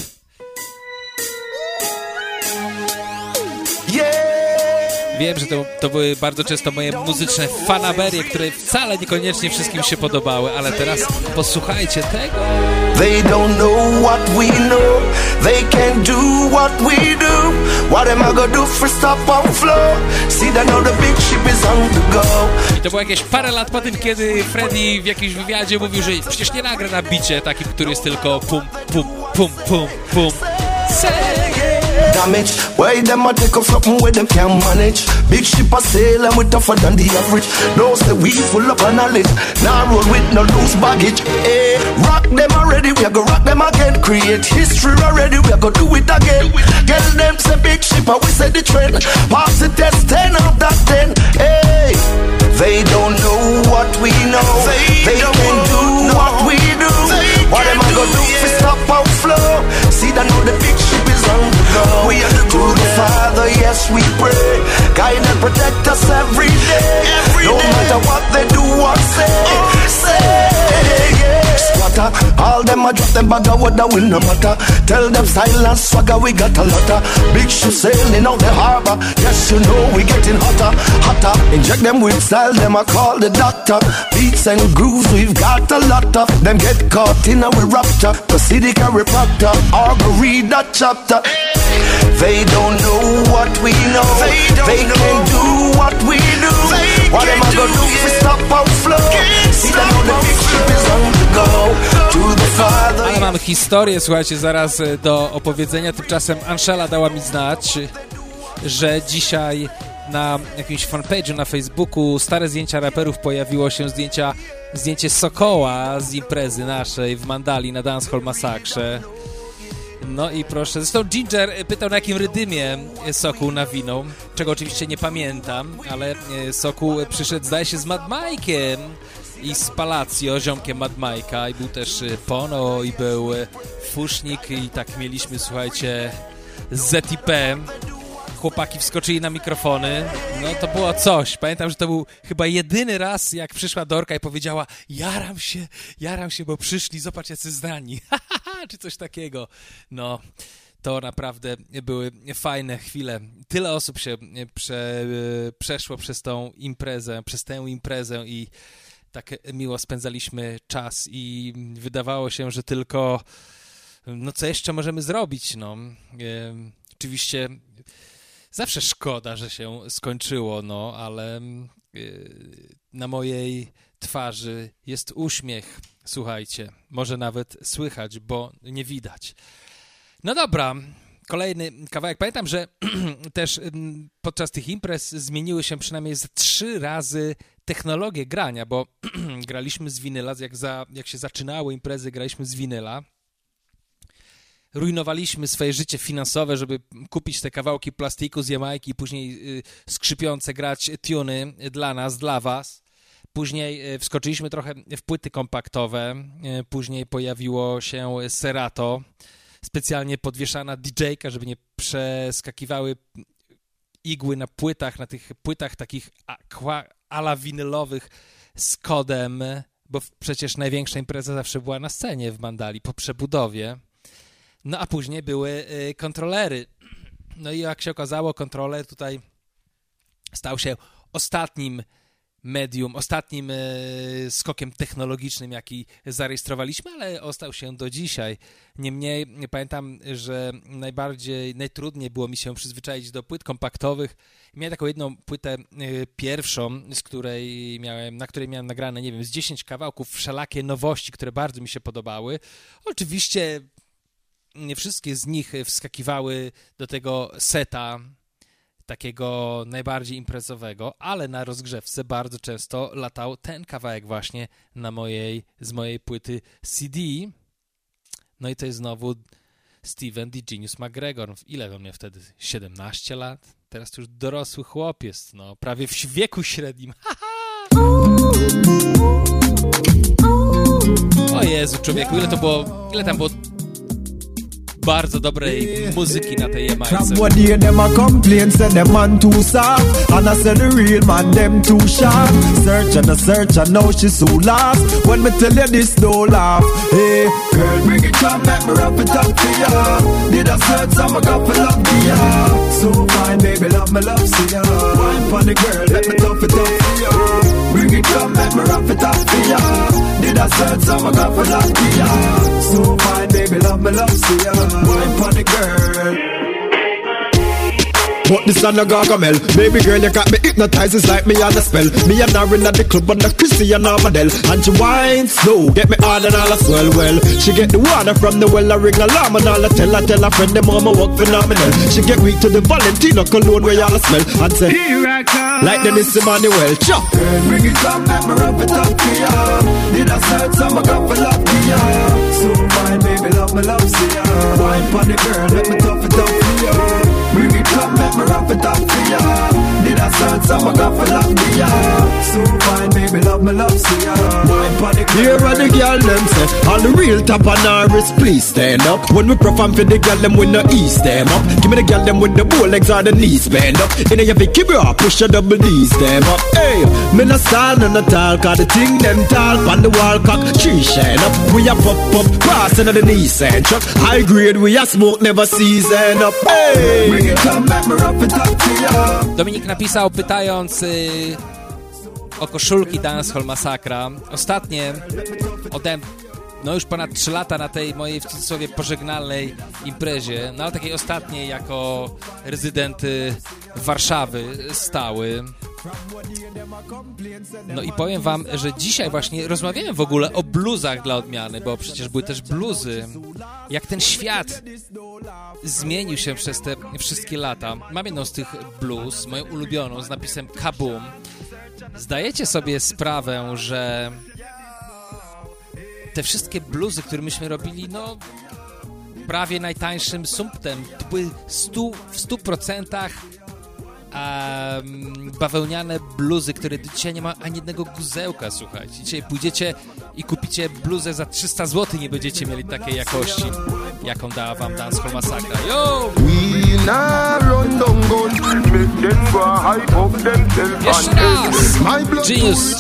A: Wiem, że to były bardzo często moje muzyczne fanaberie, które wcale niekoniecznie wszystkim się podobały, ale teraz posłuchajcie tego.
L: They don't know what we know. They can't do what we do. What am I gonna do for stop on floor? See that now the big ship is on the go.
A: I to było jakieś parę lat po tym, kiedy Freddy w jakimś wywiadzie mówił, że przecież nie nagra na bicie takim, który jest tylko pum, pum, pum, pum, pum.
L: damage. Why them a take up something where them can't manage? Big ship a sail and we tougher than the average. Those that we full up of knowledge. Now roll with no loose baggage. Hey, rock them already, we a go rock them again. Create history already, we a go do it again. Get them say big ship and we say the trend. Pass the test 10 out of 10. Hey, they don't know what we know. They can do what we do. What am I gonna do if we stop our flow? See that now the big ship is on the go. We are to the Father, yes we pray. Guide and protect us every day. No matter what they do or say, yeah. Squatter, all them a drop them bag of water will no matter. Tell them silence, swagger, we got a lotta. Big ship sailing out the harbor. Yes, you know we getting hotter, hotter. Inject them with style, them I call the doctor. Beats and grooves, we've got a lot of them. Get caught in our rapture. The city carry proctor, or go read that chapter. They don't know what we know. They can do what we do. What am I gonna do if we stop our flow? See that now the big ship is on the go. To the Father.
A: Ale mam historię, słuchajcie, zaraz do opowiedzenia. Tymczasem Anshela dała mi znać, że dzisiaj na jakimś fanpage'u na Facebooku stare zdjęcia raperów pojawiło się zdjęcie Sokoła z imprezy naszej w Mandali na Dancehall Massakrze. No i proszę, zresztą Ginger pytał, na jakim rydymie Sokół nawinął, czego oczywiście nie pamiętam, ale Sokół przyszedł, zdaje się, z Mad Mike'iem i z Palacio, ziomkiem Mad Mike'a, i był też Pono, i był Fusznik, i tak mieliśmy, słuchajcie, ZIP. Chłopaki wskoczyli na mikrofony, no to było coś. Pamiętam, że to był chyba jedyny raz, jak przyszła Dorka i powiedziała: jaram się, bo przyszli, zobacz jacy znani, czy coś takiego. No, to naprawdę były fajne chwile. Tyle osób się przeszło przez tę imprezę i tak miło spędzaliśmy czas i wydawało się, że tylko, no co jeszcze możemy zrobić, no. Oczywiście zawsze szkoda, że się skończyło, no, ale na mojej twarzy jest uśmiech, słuchajcie, może nawet słychać, bo nie widać. No dobra, kolejny kawałek. Pamiętam, że też podczas tych imprez zmieniły się przynajmniej 3 razy technologie grania, bo graliśmy z winyla, jak się zaczynały imprezy, graliśmy z winyla. Rujnowaliśmy swoje życie finansowe, żeby kupić te kawałki plastiku z Jamajki i później skrzypiące grać tuny dla nas, dla was. Później wskoczyliśmy trochę w płyty kompaktowe. Później pojawiło się Serato, specjalnie podwieszana DJ-ka, żeby nie przeskakiwały igły na płytach, na tych płytach takich ala winylowych z kodem, bo przecież największa impreza zawsze była na scenie w Mandali po przebudowie. No a później były kontrolery. No i jak się okazało, kontroler tutaj stał się ostatnim medium, ostatnim skokiem technologicznym, jaki zarejestrowaliśmy, ale ostał się do dzisiaj. Niemniej pamiętam, że najtrudniej było mi się przyzwyczaić do płyt kompaktowych. Miałem taką jedną płytę pierwszą, na której miałem nagrane, nie wiem, z 10 kawałków, wszelakie nowości, które bardzo mi się podobały. Oczywiście nie wszystkie z nich wskakiwały do tego seta takiego najbardziej imprezowego, ale na rozgrzewce bardzo często latał ten kawałek właśnie z mojej płyty CD. No i to jest znowu Steven The Genius McGregor. Ile on miał wtedy? 17 lat? Teraz to już dorosły chłop jest, no, prawie w wieku średnim. O Jezu, człowieku, ile tam było bardzo dobrej muzyki na tej Jamajce.
M: From one day them a complain, say them man too soft, and I say the real man them too sharp. Search and now she so lost. When me tell you this, don't laugh. Hey, girl, bring it up, make me wrap it up to ya. Did I search some a couple of ya? So fine, baby, love me, love see ya. Wine for the girl, let me tough it up to ya. Bring it up, make me wrap it up to ya. Did I search some a couple of ya? So fine, baby, love me, love see ya. Wine for the girl. but this on a gargamel. Baby girl, you got me hypnotized, it's like me on a spell. Me and her in at the club on the Christian Armadale. And she whines slow, get me hard and all a swell well. She get the water from the well, I ring alarm and all I tell her friend them mama work phenomenal. She get weak to the Valentino cologne where y'all smell and say, here I come, like Dennis Emmanuel. Chop. Girl, bring it up, let me rub it up to ya. Did I start some, I got for love to ya. So fine, baby, love me, love see ya. Wine for the girl, let me tough it up for ya. Bring it up, let me rub it up to ya. Did I start some, I got for love to ya. So fine, baby, love me, love see ya. Wine for the girl. Here are the girl, them say, all the real top on our wrist, please stand up. When we perform for the girl, them with the ease, them up. Give me the girl, them with the bow legs or the knees, bend up. In a Vicky bra, push your double D's, them up. Hey, me no style, no tall, cause the thing them tall, on the wall cock, tree shine up. We a pop, passing on the Nissan truck. High grade, we a smoke, never season up. Hey, bring it come back, me rough it up to ya.
A: Dominik napisał, pytając o koszulki Dancehall Masakra. Ostatnie no już ponad 3 lata na tej mojej w cudzysłowie pożegnalnej imprezie, no ale takiej ostatniej jako rezydent Warszawy stały. No i powiem wam, że dzisiaj właśnie rozmawiałem w ogóle o bluzach dla odmiany, bo przecież były też bluzy. Jak ten świat zmienił się przez te wszystkie lata. Mam jedną z tych bluz, moją ulubioną, z napisem Kaboom. Zdajecie sobie sprawę, że te wszystkie bluzy, które myśmy robili, no prawie najtańszym sumptem, to były w 100% bawełniane bluzy, które dzisiaj nie ma ani jednego guzełka, słuchajcie. Dzisiaj pójdziecie i kupicie bluzę za 300 zł, nie będziecie mieli takiej jakości, jaką dała wam Dancehall Masakra. Yo! Jeszcze raz! Genius!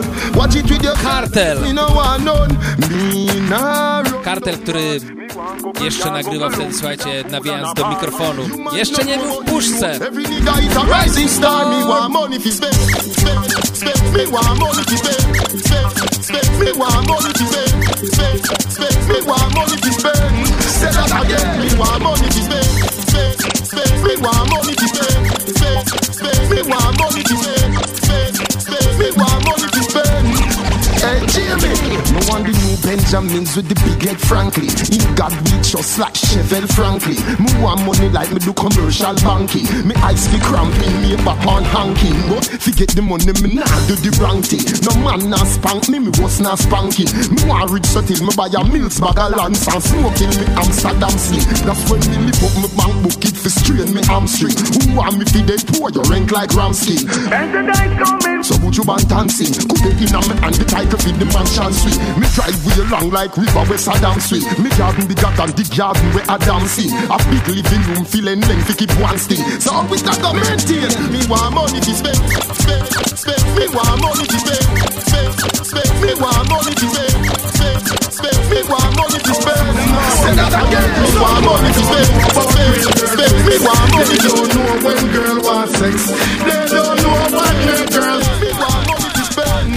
A: Kartel, który jeszcze nagrywał wtedy, słuchajcie, nawijając do mikrofonu. Jeszcze nie był w puszce!
K: Rising star, me want money fi spend, me want money fi spend, me want money fi spend, me want money fi spend. Say that again, me want money fi spend, me want money fi spend, me want money fi spend, me want money fi spend. Hey Jamie, no one the new Benjamins with the big head frankly. In God we just like Chevelle frankly. Me want money like me do commercial banking. Me eyes fi cramping, me back on hanking. But fi get the money, me nah do the wrong thing. No man nah spank me, me was nah spanking. Me want rich so till me buy a Mills bag of lands and smoking me Amsterdam sling. That's when me lift up me bank book it fi strain me hamstring. Who want me fi dead poor, you rank like Ramskin. And the night coming, so would you want dancing? Could it in a me and the title fi the mansion suite. Me drive way along like river where Saddam Street. Me garden bigger than the garden where Adam see. A big living room feeling length to keep one thing. So we start to maintain. Me want money to spend, spend. Me want money to spend, me want money to spend, me want money to spend. Say that again. Me want money to spend, me want money to spend. They don't know when girl wants sex. They don't know what their girls. Me want money to spend.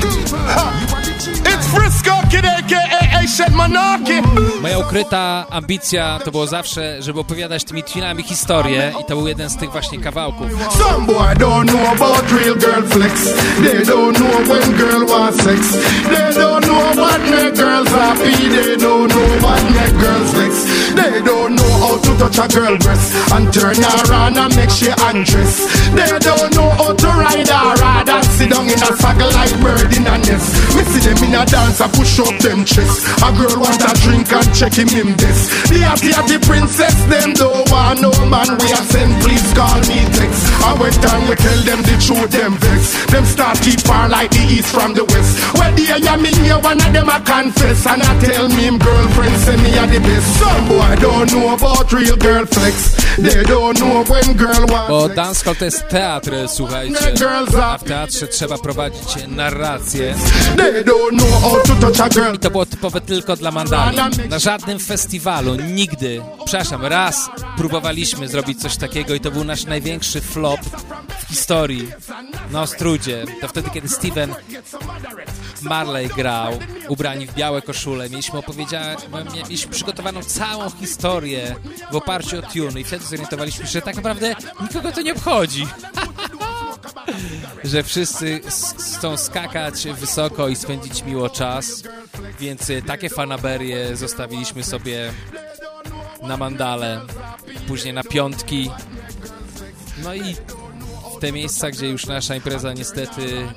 K: It's Frisco Kid aka Asian Monarchy.
A: Moja ukryta ambicja to było zawsze, żeby opowiadać tymi twinami historię i to był jeden z tych właśnie kawałków.
K: Some boy don't know about real girl flex. They don't know when girl wants sex. They don't know what make girls happy. They don't know what make girls vex. They don't know how to touch a girl breast and turn her on and make she undress. They don't know how to ride her ride and sit down in a saddle like bird in a nest. We see them in a dance and push up them chest. A girl want a drink and check him this. The princess them don't want no man. We are send please call me text. And when time we tell them the truth them vex. Them start keep far like the east from the west. When the I mean here one of them I confess. And I tell me him girlfriend say me are the best. Some boy don't know about real girl flex. They don't know when girl wants.
A: Bo dancehall to jest teatr, słuchajcie. A w teatrze trzeba prowadzić narrację. I to było typowe tylko dla Mandali. Na żadnym festiwalu, nigdy, przepraszam, raz próbowaliśmy zrobić coś takiego i to był nasz największy flop w historii na Ostrudzie. To wtedy, kiedy Steven Marley grał, ubrani w białe koszule. Mieliśmy przygotowaną całą historię w oparciu o tune i wtedy zorientowaliśmy, że tak naprawdę nikogo to nie obchodzi. Że wszyscy chcą skakać wysoko i spędzić miło czas, więc takie fanaberie zostawiliśmy sobie na mandale, później na piątki. No i w te miejsca, gdzie już nasza impreza niestety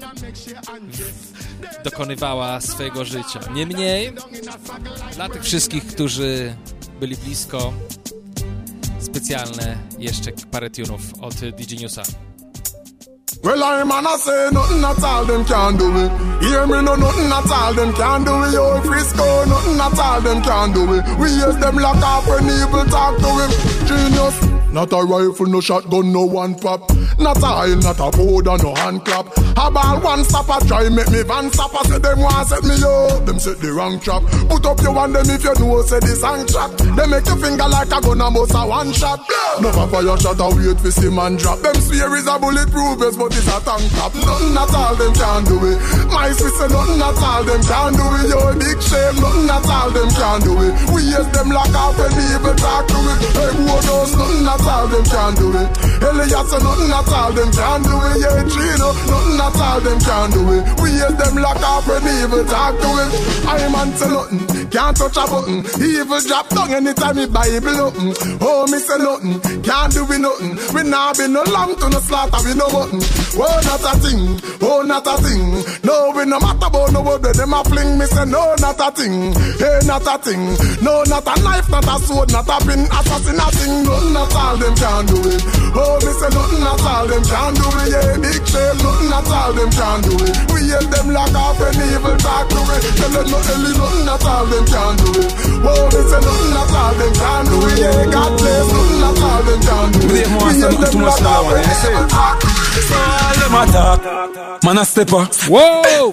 A: dokonywała swojego życia. Niemniej, dla tych wszystkich, którzy byli blisko, specjalne jeszcze parę tunów od DJ Newsa.
K: Well, I man, I say nothing at all, them can't do it. Hear me, no, nothing at all, them can't do it. Yo, Frisco, nothing at all, them can't do it. We use them lock off when evil talk to him. Genius. Not a rifle, no shotgun, no one pop. Not a oil, not a powder, no hand clap. A ball one stopper, try make me van stopper. Say them want set me up, them set the wrong trap. Put up your one, them if you know, say the song trap. They make your finger like a gun and bust a one shot. No fire shot, I wait for see man drop. Them swear is a bulletproof vest, but it's a tank top. Nothing at all, them can't do it. My sister, nothing at all, them can't do it. Yo, big shame, nothing at all, them can't do it. We use them lock off when evil talk to it. Hey, boy, those nothing at all, them can't do it. Elliot, so nothing at all, them can't do it. Yeah, Gino, nothing at all, them can't do it. We use them lock off when evil talk to it. I'm on to nothing, can't touch a button. Evil drop down anytime me Bible open. Oh, me say nothing, can't do it nothing. We nah be no lamb to no slaughter, we no button. Oh, not a thing, oh, not a thing. No, we no matter about no word, them a fling. Me say no, not a thing, hey, not a thing. No, not a knife, not a sword, not a pin. Assassin a thing, nothing at all, them can't do it. Oh, me say nothing at all, them can't do it. Yeah, big shame, nothing at all, them can't do it. We hear them lock off when evil talk to it. Tell them nothing at all, them can't do it. Oh, me say nothing at all, them can't do it. Yeah, God bless, nothing at all, them can't do it. We hear them lock off when evil talk to it.
E: So all them attack, man a stepper.
A: Wow!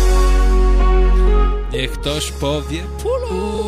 A: Niech ktoś powie pulu.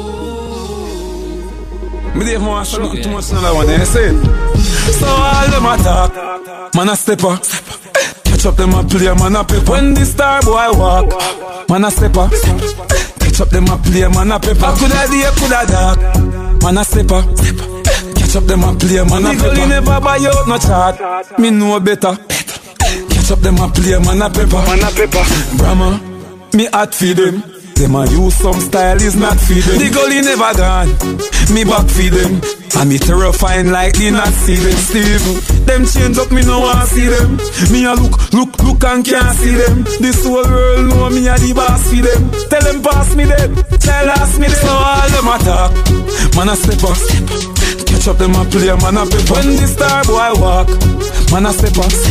E: Me Dave more too much another one, you see it? So all them attack, man a stepper. Catch up them a play, man a pepper. When the star boy walk, man a stepper. Catch up them a play, man a pepper. Coulda day, coulda dark, man a stepper. Catch up them a play, man a pepper. Nigga never buy out no chart, me know better. Catch up them a play, man a pepper. Man a pepper. Brahma, me hot feed them. Them a use some style is not feed them. The gully never gone, me back feed them. And me terrifying like the not see them. Steve, them change up, me no want see them. Me a look and can't see them. This whole world know me a the boss for them. Tell them pass me them, tell ask me them. So all them attack, man a step up. Catch up them a play, man a pepper. When the star boy walk, man a step up.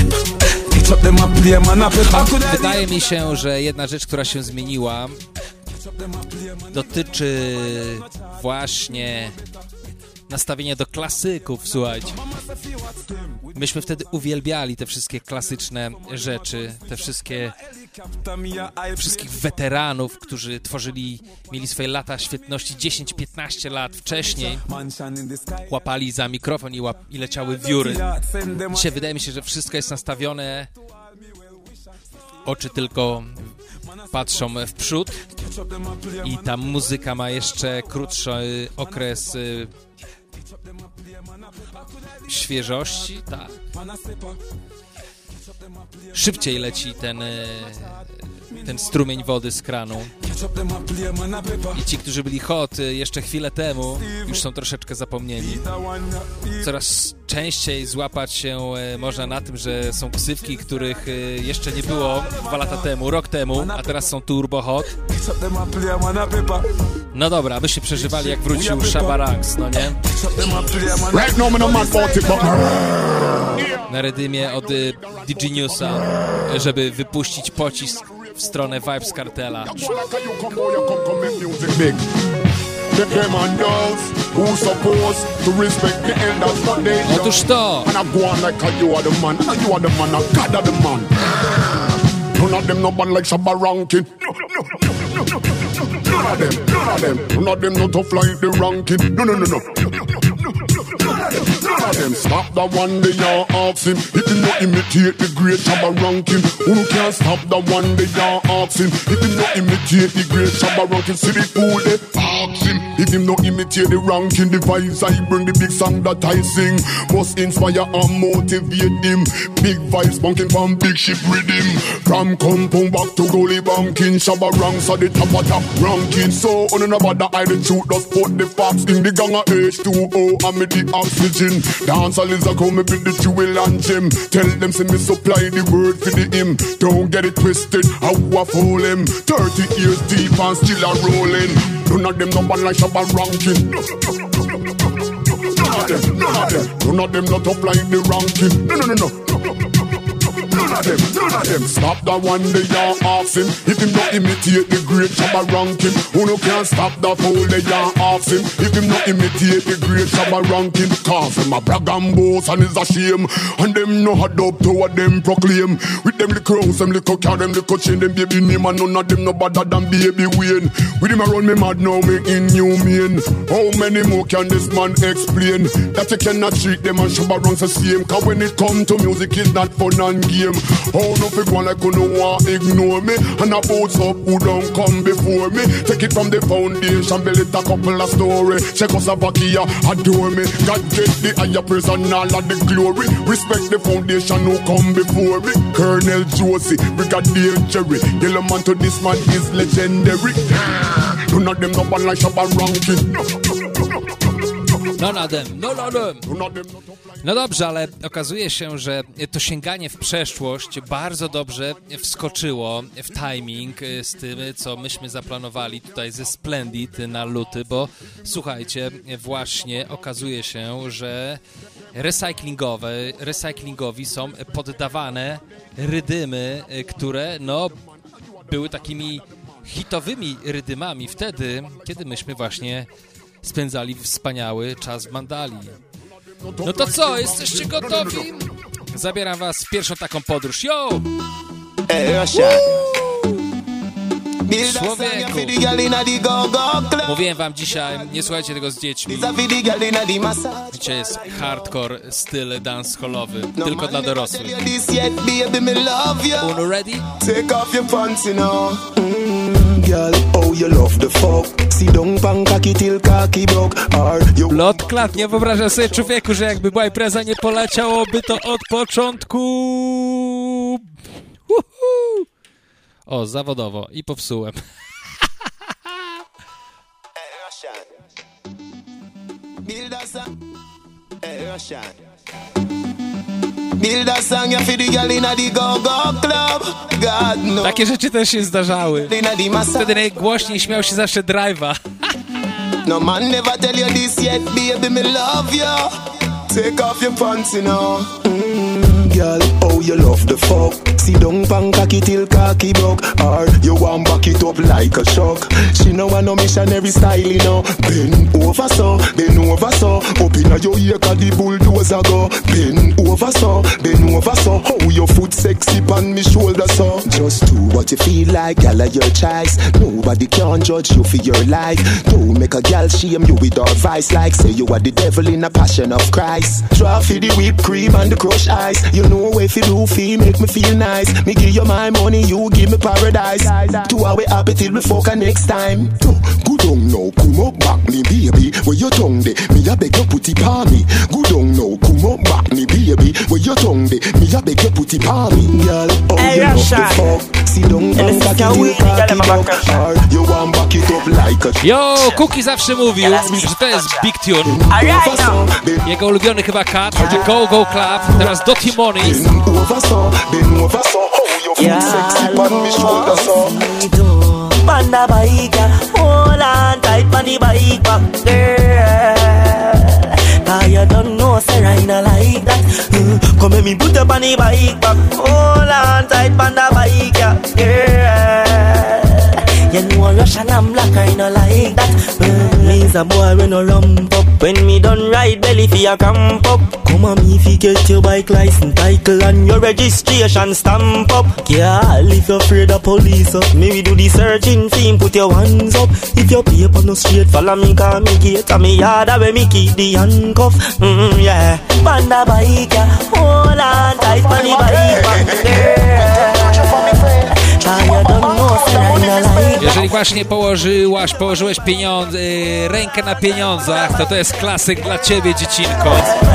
A: Wydaje mi się, że jedna rzecz, która się zmieniła, dotyczy właśnie nastawienia do klasyków, słuchajcie. Myśmy wtedy uwielbiali te wszystkie klasyczne rzeczy, te wszystkich weteranów, którzy mieli swoje lata świetności 10-15 lat wcześniej, łapali za mikrofon i leciały wióry. Dzisiaj wydaje mi się, że wszystko jest nastawione, oczy tylko patrzą w przód i ta muzyka ma jeszcze krótszy okres świeżości, tak. Szybciej leci ten strumień wody z kranu. I ci, którzy byli hot jeszcze chwilę temu, już są troszeczkę zapomnieni. Coraz częściej złapać się można na tym, że są ksywki, których jeszcze nie było 2 lata temu, rok temu, a teraz są turbo hot. No dobra, abyście przeżywali, jak wrócił Shabba Ranks, no nie? Na redymie od DJ Newsa, żeby wypuścić pocisk w stronę Vybz Kartela. Otóż to!
K: None of them no bad like Shabba Rankin. None of them no tough like the Rankin. No. None of them stop the one they are ask him. If you not imitate the great Shabba Rankin, who can't stop the one they are ask him. If you not imitate the great Shabba Rankin, see the fool they ask him. If If him no imitate the ranking, the vibes I bring, the big song that I sing must inspire and motivate him. Big vibes bunking from big ship rhythm. From compound back to goalie banking, Shabba ranks at the top of top ranking. So on another that I the truth just put the facts in the gang of H2O and me the oxygen. Dancehall is a come me with the jewel and gem. Tell them say me supply the word for the hymn. Don't get it twisted, how I fool him. 30 years deep and still a rolling. None of them no bad like Shabba ranking. None of them not up like the ranking. No. None of them. Stop that one day you ask him. If him not imitate the great Shabba ranking, who no can stop that fool they you ask him. If him not imitate the great Shabba ranking, cause him a brag and boast and is a shame. And them no had up to what them proclaim. With them little house, them little car, them little chain, them baby name, and none of them no better than baby Wayne. With him around me mad now, me inhumane. How many more can this man explain? That you cannot treat them and Shabba ranks the same. Cause when it come to music, it's not fun and game. Oh, no fi go like you no want ignore me. And a boats up who don't come before me. Take it from the foundation, build it a couple of story. Czechoslovakia adore me. God get the higher praise and all of the glory. Respect the foundation who come before me. Colonel Josie, Brigadier Jerry. Yellow man to this man is legendary. None of them no bad like Shabba ranking.
A: None of them. No dobrze, ale okazuje się, że to sięganie w przeszłość bardzo dobrze wskoczyło w timing z tym, co myśmy zaplanowali tutaj ze Splendid na luty, bo słuchajcie, właśnie okazuje się, że recyklingowi są poddawane rydymy, które były takimi hitowymi rydymami wtedy, kiedy myśmy właśnie spędzali wspaniały czas w Mandali. No to co, jesteście gotowi? Zabieram was w pierwszą taką podróż. Yo! Człowieku, mówiłem wam dzisiaj, nie słuchajcie tego z dziećmi. Dzisiaj jest hardcore styl dancehallowy, tylko dla dorosłych. Uno ready?
L: Take off your pants, you know. Girl, oh you love the fuck. See don't pan kaki till kaki broke.
A: Lot klat, nie wyobrażam sobie, człowieku, że jakby była impreza, nie poleciałoby to od początku. O, zawodowo i popsułem. Takie rzeczy też się zdarzały. Wtedy najgłośniej śmiał się zawsze Drive'a.
L: No man never tell you this yet, baby, me love you. Take off your pants, you know. Girl, oh you love the fuck. See don't pan cocky till cocky broke. Or you want back it up like a shock. She no want no missionary style, you know. Bend over so. Up inna your ear 'cause the bulldozer go. Bend over so. How your foot sexy pan me shoulder so. Just do what you feel like, girl, of your choice. Nobody can judge you for your life. Don't make a girl shame you with advice like say you are the devil in a passion of Christ. Try for the whipped cream and the crushed ice. You know if you do feel make me feel nice. Me give you my money, you give me paradise. 2 hours happy till we fuck next time. Good on now, come up back me baby. Where your tongue de, me a beg you put it on me. Good on now, come up back me baby. Where your tongue de, me a beg you put it on me. Girl, oh you love the fuck. See don't back it till cocky broke. You want back it up like a.
A: Yo, Cookie zawsze mówił, że to jest big tune. Jego ulubiony chyba cut, że Go Go Club, teraz Dirty Money.
N: Panda bike, hold on tight on the bike back, girl. Cause you don't know, say I not like that. Come let me put up on the bike back, hold on tight on the bike, girl. You know Russian and black, I no like that. Me's a boy when no rump up. When me done ride belly for your camp up. Come on me if you get your bike license, title and your registration stamp up. Yeah, if you're afraid of police up, me we do the searching theme, put your hands up. If your paper no straight, follow me cause me gate and me yard where me keep the handcuff. Yeah, panda bike, yeah. Hold on tight on the bike back, girl. Cause you don't know
A: Jeżeli właśnie położyłeś pieniądze, rękę na pieniądzach, to jest klasyk dla ciebie, dziecinko.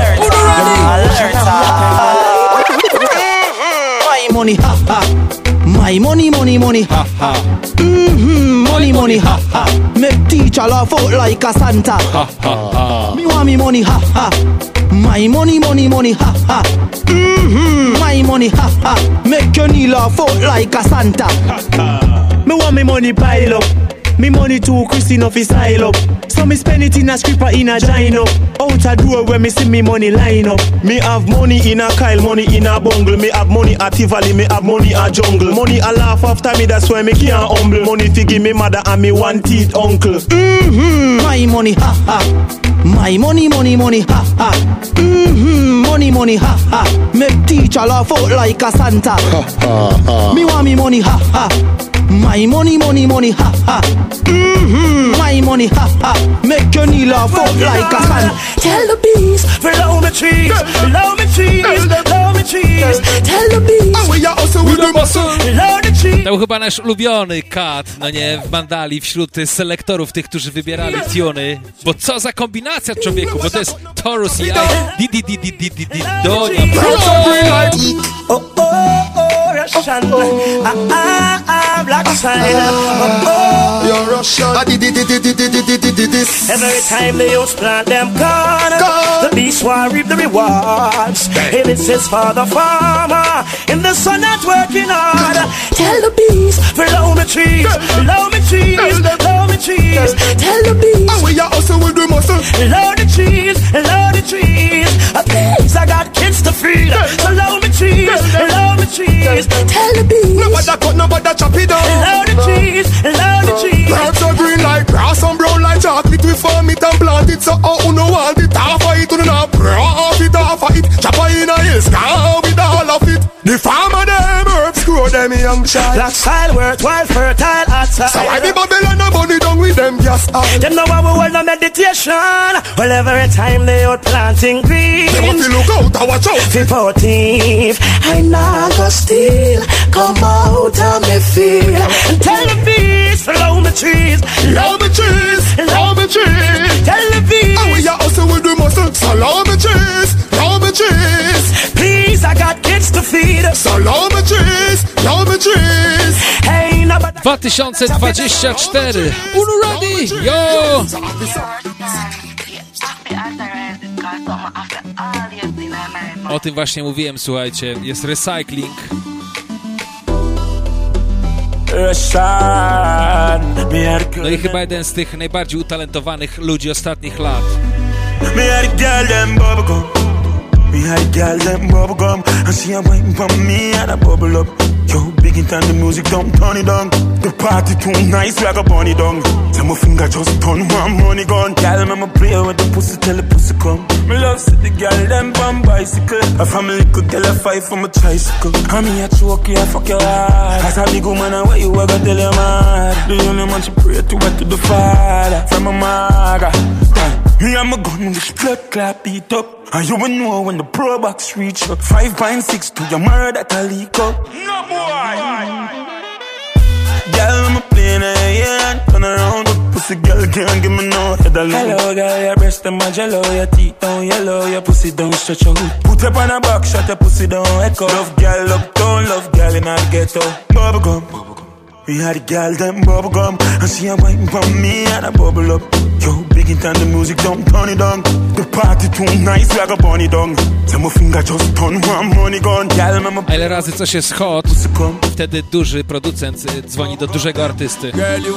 N: My money, ha ha. My money, money, money, ha ha. Money, money, ha ha. Make teacher laugh out like a Santa. Ha ha ha. Me want me money, ha ha. My money, money, money, ha ha. My money, ha ha. Make your knee laugh out like a Santa. Ha ha. Me want me money pile up. Me money too Christine off his style up. So me spend it in a scripper in a gino. Out a door where me see me money line up.
O: Me have money in a Kyle, money in a bungle. Me have money at Tivoli, me have money at jungle. Money a laugh after me, that's why me can't humble. Money fi give me mother and me one teeth uncle.
N: My money, ha ha. My money, money, money, ha ha. Money, money, ha ha. Make teacher laugh out like a Santa. Ha ha ha. Me want me money, ha ha. My money, money, money, ha ha. My money, ha ha. Make your knee laugh out like a Santa.
P: Tell the bees, follow me trees, follow me trees, follow me trees. Tell the bees, follow the trees.
A: To był chyba nasz ulubiony kat, no nie, w Mandali, wśród selektorów, tych, którzy wybierali tuny. Bo co za kombinacja, człowieku, bo to jest Taurus i Donia.
P: Russian, black side.
K: You're Russian.
P: Every time they use plant them corn, the beast will reap the rewards. If it says for the farmer, in the sun not working hard. Tell the bees, follow me trees, follow me trees, follow me trees. Tell the bees,
K: and we are also with the muscle.
P: Follow the trees, follow the trees. Please, I got kids to feed. Follow me trees, follow me trees. Tell the bees,
K: nobody cut, nobody chop it down.
P: Follow the trees, follow the trees.
K: Plants are green like grass and brown like chocolate. We farm it and plant it, so who no want it half of it, who no half it, half of it. Chop in a hill, scar with all of it. The farmer them herbs grow them young child.
P: Black soil worthwhile, fertile outside.
K: So why the Babylon a bunny down with them gas oil?
P: Them know how we hold no meditation. Well, every time they out planting green.
K: They want to look out and watch out.
P: For thief, I not go steal. Come out of me feel. And tell the bees, follow me trees,
K: love me trees, love me trees.
P: Tell the bees,
K: and we are also with the muscle. So love me trees, love me trees.
P: Please, I got kids to feed.
K: So love me trees, love me trees.
P: Hey,
A: 2024. Unu ready? Yo! O tym właśnie mówiłem, słuchajcie. Jest recycling. No i chyba jeden z tych najbardziej utalentowanych ludzi ostatnich lat.
Q: Me had a girl them bubble gum, and she a waiting for me and a bubble up. Yo, big in time the music don't turn it down. The party too nice like a bunny down. Tell my finger just turn one money gun. Girl, I'ma play with the pussy till the pussy come. Me love see the girl them on bicycle. A family could tell a fight from a tricycle. I me a choke you, I fuck your heart. As a big woman, and what you ever tell your man. The only man she pray to her to the Father from a maga. Me and my gun with blood clot beat up. And you will know when the pro box reach up. 5.6 to your murder that a leak up. No boy. Girl, I'm a plane and turn around. Pussy girl can't give me no head alone. Hello girl, your breast them a jello. Your teeth down yellow, your pussy down stretch out. Put up on a box, shut your pussy down echo. Love girl uptown, love girl in a ghetto. Bubble gum. We had a girl them bubble gum, and she a waiting for me and a bubble up. Yo, big in time the music don't turn it down. The party too nice like a bunny down. Tell my finger just turn one money gun.
A: A ile razy coś jest hot, wtedy duży producent dzwoni do dużego artysty.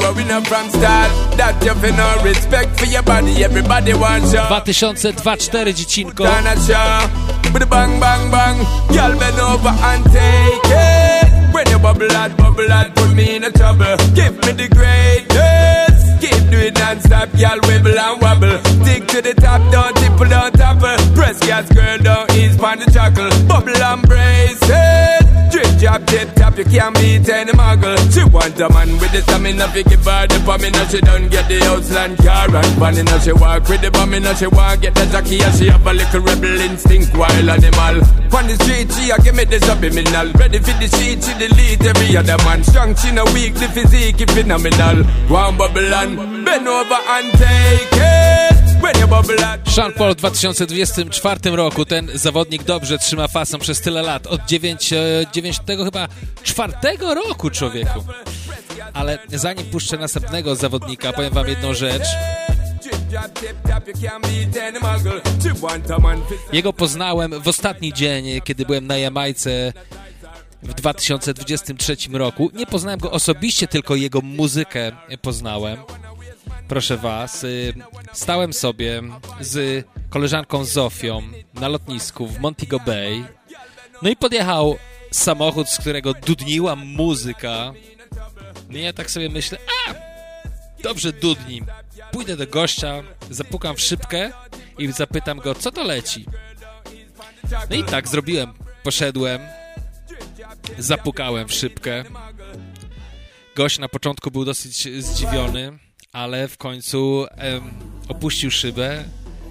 A: 2024 dziecinko.
R: With a bang bang bang, y'all bend over and take it. When you bubble out, put me in a trouble. Give me the greatest. Keep doing non-stop, y'all wibble and wobble. Stick to the top, don't tipple, don't topple. Press gas, girl, don't ease pon the chuckle. Bubble and brace it. Drip drop, tip top, you can't beat any muggle. She want a man with the stamina, fi give her the pamina. She don't get the Outland car and panina. She walk with the bamina, she want get the jockey, and she have a little rebel instinct, wild animal. On the street, she a give me the subliminal. Ready for the sheet, she delete every other man. Strong, she no weak, the physique is phenomenal. One bubble and bend over and take it.
A: Sean Paul w 2024 roku. Ten zawodnik dobrze trzyma fasę przez tyle lat. Od 94 roku, człowieku. Ale zanim puszczę następnego zawodnika, powiem wam jedną rzecz. Jego poznałem w ostatni dzień, kiedy byłem na Jamajce w 2023 roku. Nie poznałem go osobiście, tylko jego muzykę poznałem. Proszę was, stałem sobie z koleżanką Zofią na lotnisku w Montego Bay. No i podjechał samochód, z którego dudniła muzyka. No i ja tak sobie myślę, dobrze dudni. Pójdę do gościa, zapukam w szybkę i zapytam go, co to leci. No i tak zrobiłem. Poszedłem, zapukałem w szybkę. Gość na początku był dosyć zdziwiony, ale w końcu opuścił szybę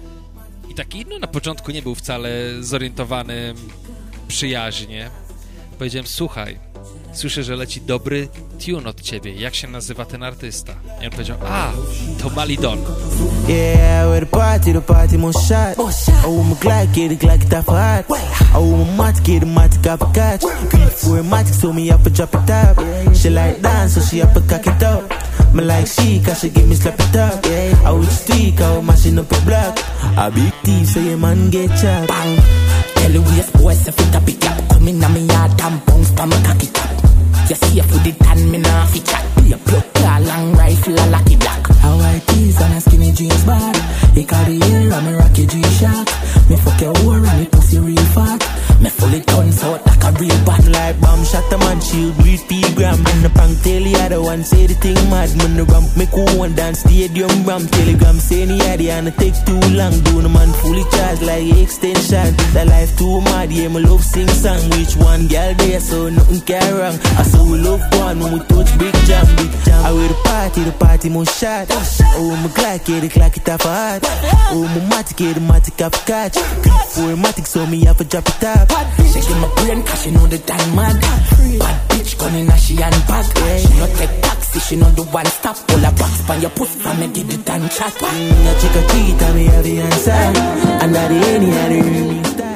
A: i taki, na początku nie był wcale zorientowany przyjaźnie. Powiedziałem, słuchaj, słyszę, że leci dobry tune od ciebie. Jak się nazywa ten artysta? I on powiedział, to Malidon.
N: Yeah, we're the party most shot. Oh, my Glock, get it off hot. Oh, my mat, get off a catch. For a matic, so me up a drop it up. She like dance, so she up a cock it up. Me like she, cause she give me slap it up. I would streak, I would mashing up a block. A big thief, so your man get chopped. Bang, tell the waste boy, say fit a big up. Come in, I'm in yard, damn bounce, pa me cock it up. You see, I put it on me now, fi chat. Be a plug, a long rifle, a lucky black. How I tease on a skinny jeans bar. He carry hair, I'm a rocky G-Shock. Me fuck your whore and me pussy real fat. Me fully turns out like a real bad. Like bomb shot a man, shield with P-gram. And the prank tell the other one, say the thing mad. Man, the ramp me cool and dance stadium ramp. Telegram say the idea and it take too long. Do the man fully charged like extension. The life too mad, yeah, me love sing song. Which one girl there, so nothing can wrong. I saw we love one when we touch big jam, big jam. I wear the party most shot. Oh, my Glock, get it off a hot. Oh, my matic, get the matic off a catch. For a matic, so me have a drop it up. She give my brain, cause she know the time mad. Bad bitch, gunning as she and bag. She not take taxi, she not the one stop. Pull a box from your pussy, from me give it and chat. I check a tweet, and me have the answer. And that any other.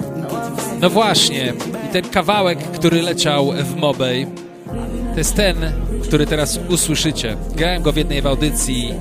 A: No właśnie, i ten kawałek, który leciał w Mobay, to jest ten, który teraz usłyszycie. Grałem go w jednej w audycji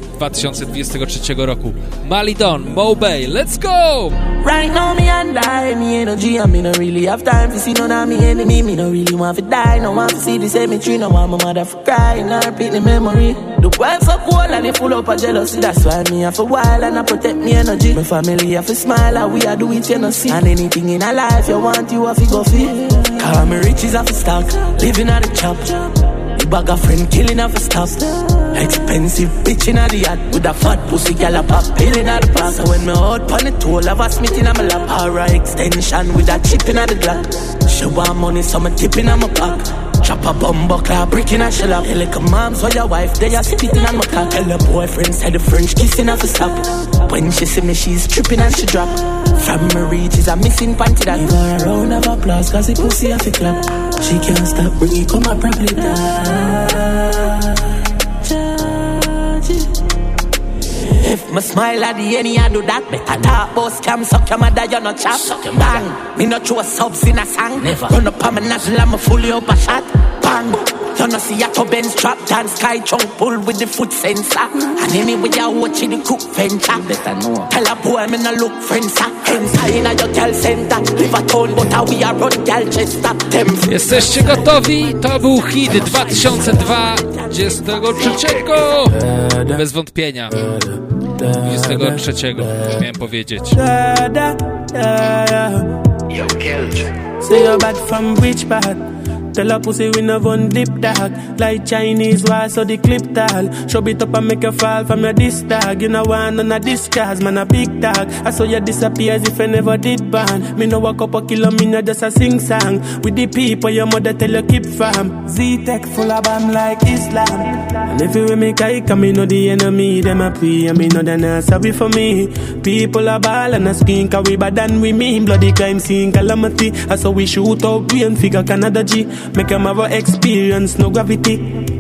A: 2023 roku. Malidon, Mobay, let's go!
N: Right now me and die, me energy and me no really have time to see none of me enemy. Me no really want to die, no want to see the cemetery. No want my mother for crying, I repeat the memory. The wife for cool and they full up of jealousy. That's why me have a while and I protect me energy. My family have a smile and we are do it, you know see. And anything in our life you want, you have to go feel. Cause me riches have to stock, living at the chop. Bag a friend killing off a stop. Expensive bitch in the yard with a fat pussy gal a pop pilling at the park. So when me out on the toll, have a smith in my lap. Alright, extension with a chip in the Glock. She want money, so me tipping on my pack. Chop a bumbo clap, brick in a shell up. Like a mom's or your wife, they are spitting on my cock. Tell her boyfriend said the French kissing off a stop. When she see me, she's tripping and she drop. From my reach is a missing panty that. Give her a round of applause, cause the pussy off a clap. She can't stop, bring it, come and probably die. If my smile at the end, I do that. Better talk about scam, suck your mother, you're not chop. Bang, me not throw subs in a song. Never. Run up on my nozzle, I'm fully up a shot. Bang, you know see a to Benz trap dance, sky chunk pull with the foot sensor. And anyway you watching the cook venture. Better know. Tell a boy me no look friends. Hence in a your girl center. Live a town but how we are run girl Chester.
A: Jesteście gotowi? To był hit 2023. Bez wątpienia. 23 miałem powiedzieć.
P: Say you're bad from which part?
S: Tell a pussy we no run lip dog. Like Chinese war, so the clip tall. Show it up and make you fall from your disc tag. You know one on a disc cause man a big dog. I saw you disappear as if I never did ban. Me no walk up a kilo, me no just a sing song. With the people your mother tell you keep from. Z-Tech full of bam like Islam. And everywhere me kike, me know the enemy. Them a pray and me know they not sorry for me. People a ball and a scream cause we bad than we mean. Bloody crime scene calamity. I saw we shoot out brain figure Canada G. Make them have a experience, no gravity.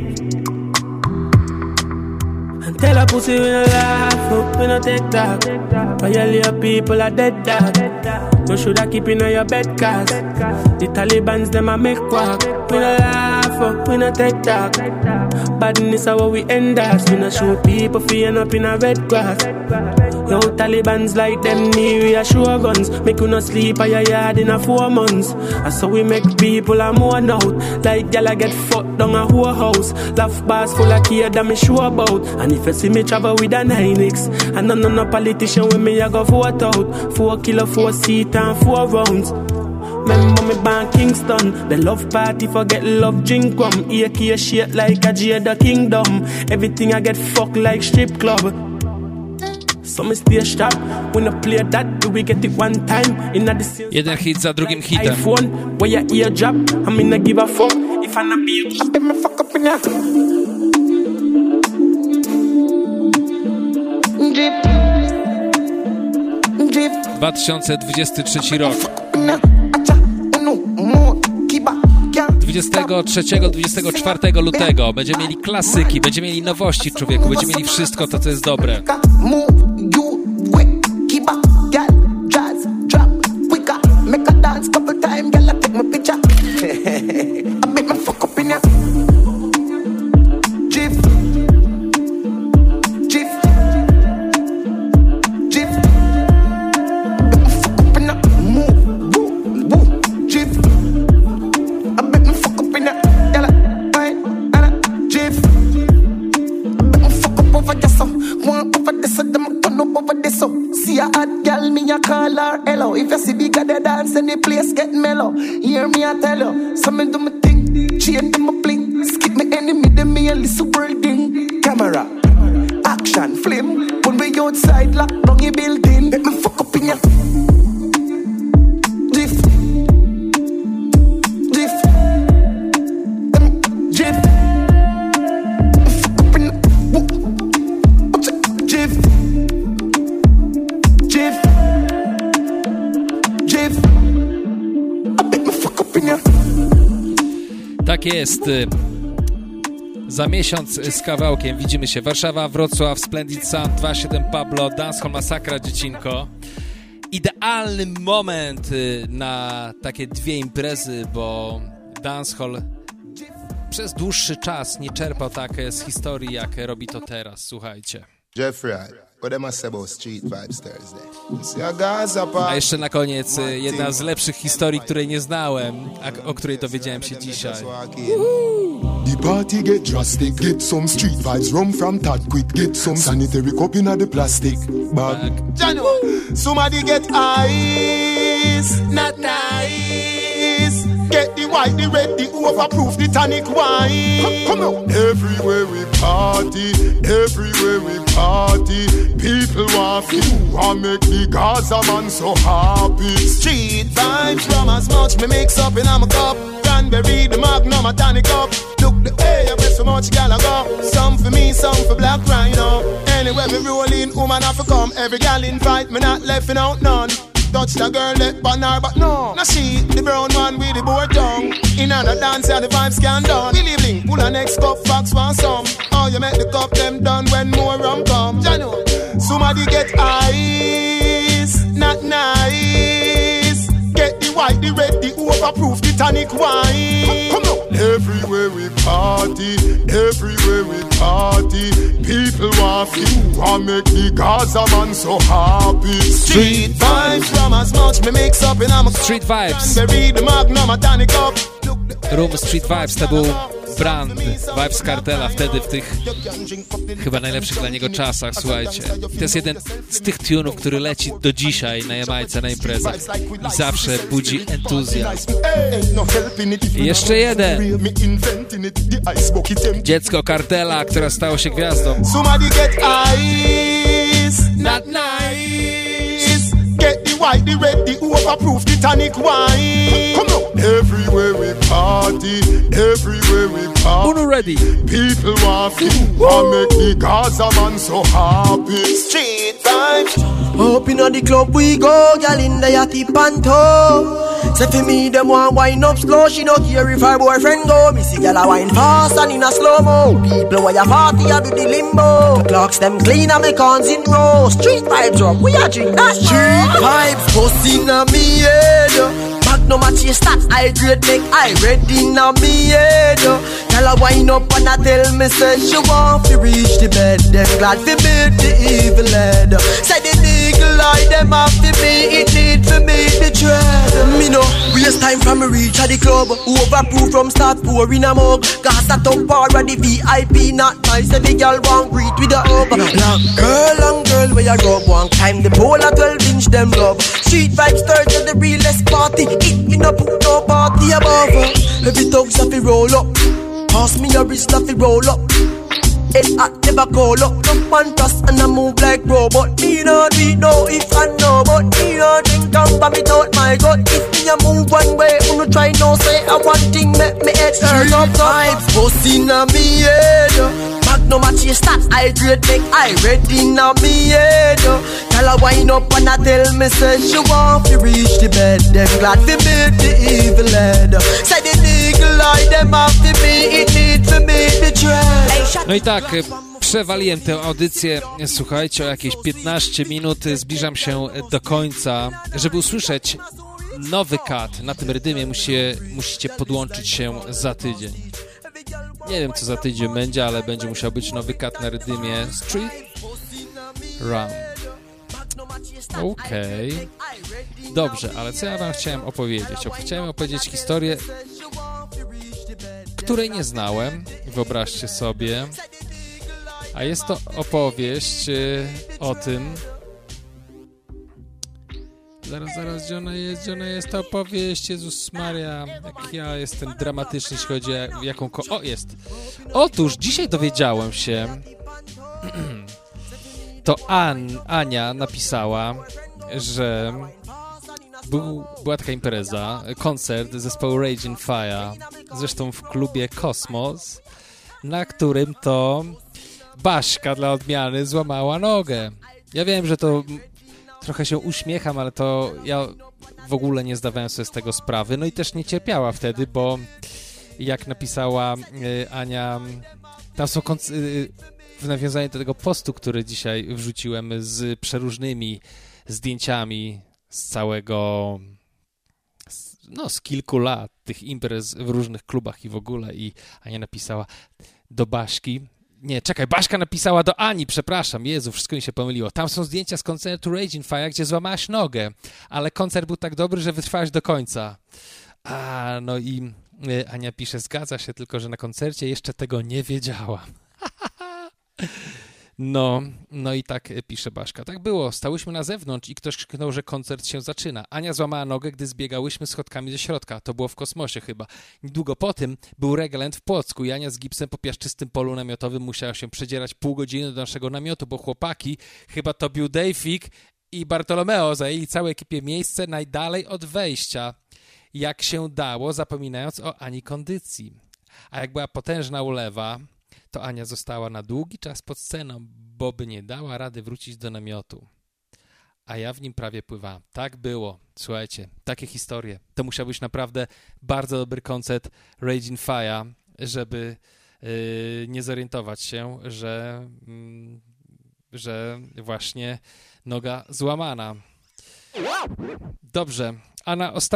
S: And tell a pussy we no laugh, we no take talk. Violate people are dead dog. You shoulda keep in your bed cause the Talibans them a make quack. We no laugh, we no take talk. Badness is how we end us. We no shoot people for end up in a red grass. Yo, Talibans like them need reassure guns. Make you no sleep at your yard in a 4 months. And so we make people a mourn out. Like gyal get fucked down a whole house. Laugh bars full of care that me sure about. And if you see me travel with a 9X, and no politician with me I go vote out. 4 kilo, 4 seat and 4 rounds. Remember me born Kingston. The love party forget love drink rum. AK shit like a Jada Kingdom. Everything I get fucked like strip club. So me stay sharp. When I play that, do we get it one time? In the
A: jeden hit za drugim hitem.
S: iPhone, where your ear drop. I mean I give a fuck. If I not be I bet me fuck up in that.
F: Drip. Drip.
A: 2023 rok. 23-24 lutego będziemy mieli klasyki, będziemy mieli nowości, człowieku, będziemy mieli wszystko to, co jest dobre.
F: If you see bigger the dance and the place get mellow, hear me I tell you, some do me thing, chain them a bling, skip me enemy, them me a little building. Camera, action, flame, when we outside lock down your building, let me fuck up in ya. Drift, drift, drift, fuck up in ya. Drift, drift.
A: Tak jest. Za miesiąc z kawałkiem widzimy się. Warszawa, Wrocław, Splendid Sound, 27 Pablo, Dancehall Masakra, dziecinko. Idealny moment na takie 2 imprezy, bo Dancehall przez dłuższy czas nie czerpał tak z historii, jak robi to teraz. Słuchajcie.
T: Jeffrey, what them I say about Street Vibes Thursday?
A: A jeszcze na koniec jedna z lepszych historii, której nie znałem, a o której dowiedziałem się dzisiaj.
K: The party get drastic, get some street vibes, rum from Tad quick, get some sanitary cup in the plastic bag.
T: Somebody get ice, not nice. Get the white, the red, the overproof, the tonic wine.
K: Come on. Everywhere we party, people want feel, want make the Gaza man so happy.
T: Street vibes, rum as much me mix up in a cup. Cranberry, the Magnum, a tonic up. Look the way you bet so much gal I go. Some for me, some for Black Rhino. Anywhere we roll in, woman have to come. Every gal invite me, not left out none. Touch the girl that banner, but no. Now she, the brown one with the board down. In another dance, yeah, the vibes can done. Billy Bling, pull a next cup, fox want some. Oh, you make the cup them done when more rum come. Jano, somebody get ice, not nice. Get the white, the red, the overproof, the tonic wine. Come on.
K: Everywhere we party, people want feel, want make the Gaza man so happy.
T: Street vibes, rum as much me mix up in a
A: Street Vibes.
T: Cranberry, the Magnum, a tonic up.
A: Room Street Vibes to był Brand, Vybz Kartela, wtedy w tych chyba najlepszych dla niego czasach, słuchajcie. To jest jeden z tych tunów, który leci do dzisiaj na Jamajce, na imprezach i zawsze budzi entuzjazm. I jeszcze jeden. Dziecko Kartela, które stało się gwiazdą.
T: Not nice. Get the white, the red, the overproof, the tonic wine. Come on. Everywhere we party, everywhere we party.
A: Uno ready.
T: People want to make the Gaza man so happy.
N: Street vibes. Up in the club we go, girl in the yachty panto. Say for me, them want wine up slow. She don't care if her boyfriend go. Me see girl a wine fast and in a slow-mo. People where you party, I do the limbo. Clocks them clean and me cons in row. Street vibes up, we a drink that street vibes. Bustin' on me head. Magnum a chase stats, I grade make I ready na me head. Tell her wine up and I tell me say she want to reach the bed. Them glad to meet the evil head. Say the legal eye them have to be. It need to meet the dread. Me know waste time from me reach at the club. Overproof from start pouring a mug. Gas that up power the VIP not nice. Every girl want greet with a hug. Long girl where you rub. One time the pole at 12-inch them love. Street vibes turn to the realest party. It in a put no party above. Every thugs have to roll up. Pass me your wrist have to roll up. It hot never call up. No man trust and I move like robot. Me not do it no if I know. But me not drink and vomit without my gut. If me a move one way, no try no say I one thing make me head turn up. Vibes bustin' on me head. Magnum a chase stats, I grade make I ready now me head. Tell her wine up and I tell me say she want to reach the bed. Them glad to meet the evil head. Say the legal eye them have to be. It need to meet the dread.
A: No i tak, przewaliłem tę audycję, słuchajcie, o jakieś 15 minut, zbliżam się do końca. Żeby usłyszeć nowy cut na tym rydymie, musicie podłączyć się za tydzień. Nie wiem, co za tydzień będzie, ale będzie musiał być nowy cut na rydymie Street Rum. Okej. Dobrze, ale co ja wam chciałem opowiedzieć? Chciałem opowiedzieć historię, której nie znałem, wyobraźcie sobie. A jest to opowieść o tym... Zaraz, gdzie ona jest ta opowieść? Jezus Maria, jak ja jestem dramatyczny, jeśli chodzi o jaką... O, jest! Otóż dzisiaj dowiedziałem się, to Ania napisała, że była taka impreza, koncert zespołu Raging Fire, zresztą w klubie Kosmos, na którym to Baśka dla odmiany złamała nogę. Ja wiem, że to trochę się uśmiecham, ale to ja w ogóle nie zdawałem sobie z tego sprawy. No i też nie cierpiała wtedy, bo jak napisała Ania, tam są w nawiązaniu do tego postu, który dzisiaj wrzuciłem z przeróżnymi zdjęciami z całego, no z kilku lat tych imprez w różnych klubach i w ogóle, i Ania napisała do Baśki, nie, czekaj, Baśka napisała do Ani, przepraszam, Jezu, wszystko mi się pomyliło. Tam są zdjęcia z koncertu Raging Fire, gdzie złamałaś nogę, ale koncert był tak dobry, że wytrwałaś do końca. No i Ania pisze, zgadza się, tylko że na koncercie jeszcze tego nie wiedziała. No i tak pisze Baśka. Tak było, stałyśmy na zewnątrz i ktoś krzyknął, że koncert się zaczyna. Ania złamała nogę, gdy zbiegałyśmy schodkami ze środka. To było w Kosmosie chyba. Niedługo po tym był Regaland w Płocku i Ania z gipsem po piaszczystym polu namiotowym musiała się przedzierać pół godziny do naszego namiotu, bo chłopaki, chyba to był Davik i Bartolomeo, zajęli całej ekipie miejsce najdalej od wejścia. Jak się dało, zapominając o Ani kondycji. A jak była potężna ulewa, to Ania została na długi czas pod sceną, bo by nie dała rady wrócić do namiotu. A ja w nim prawie pływałam. Tak było. Słuchajcie, takie historie. To musiał być naprawdę bardzo dobry koncert Raging Fire, żeby nie zorientować się, że właśnie noga złamana. Dobrze, a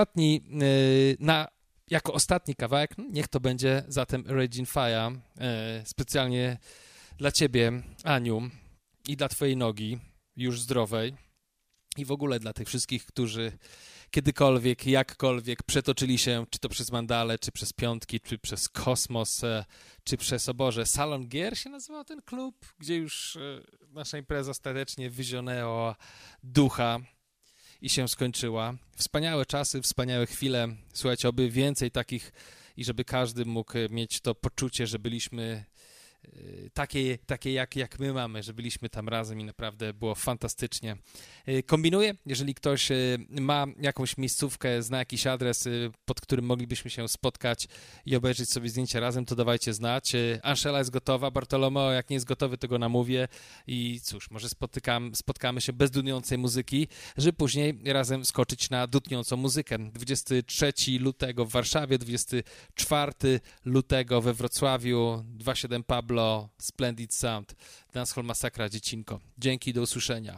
A: jako ostatni kawałek, niech to będzie zatem Raging Fire, specjalnie dla ciebie, Aniu, i dla twojej nogi, już zdrowej, i w ogóle dla tych wszystkich, którzy kiedykolwiek, jakkolwiek przetoczyli się, czy to przez Mandale, czy przez Piątki, czy przez Kosmos, czy przez, o Boże, Salon Gier się nazywał ten klub, gdzie już nasza impreza ostatecznie wyzionęła ducha i się skończyła. Wspaniałe czasy, wspaniałe chwile. Słuchajcie, oby więcej takich i żeby każdy mógł mieć to poczucie, że byliśmy takie jak my mamy, że byliśmy tam razem i naprawdę było fantastycznie. Kombinuję, jeżeli ktoś ma jakąś miejscówkę, zna jakiś adres, pod którym moglibyśmy się spotkać i obejrzeć sobie zdjęcia razem, to dawajcie znać. Anszela jest gotowa, Bartolomeo jak nie jest gotowy, to go namówię i cóż, może spotkamy się bez dudniącej muzyki, żeby później razem skoczyć na dudniącą muzykę. 23 lutego w Warszawie, 24 lutego we Wrocławiu, 27 Pablo, Splendid Sound, Dancehall Masakra, Dziecinko. Dzięki, do usłyszenia.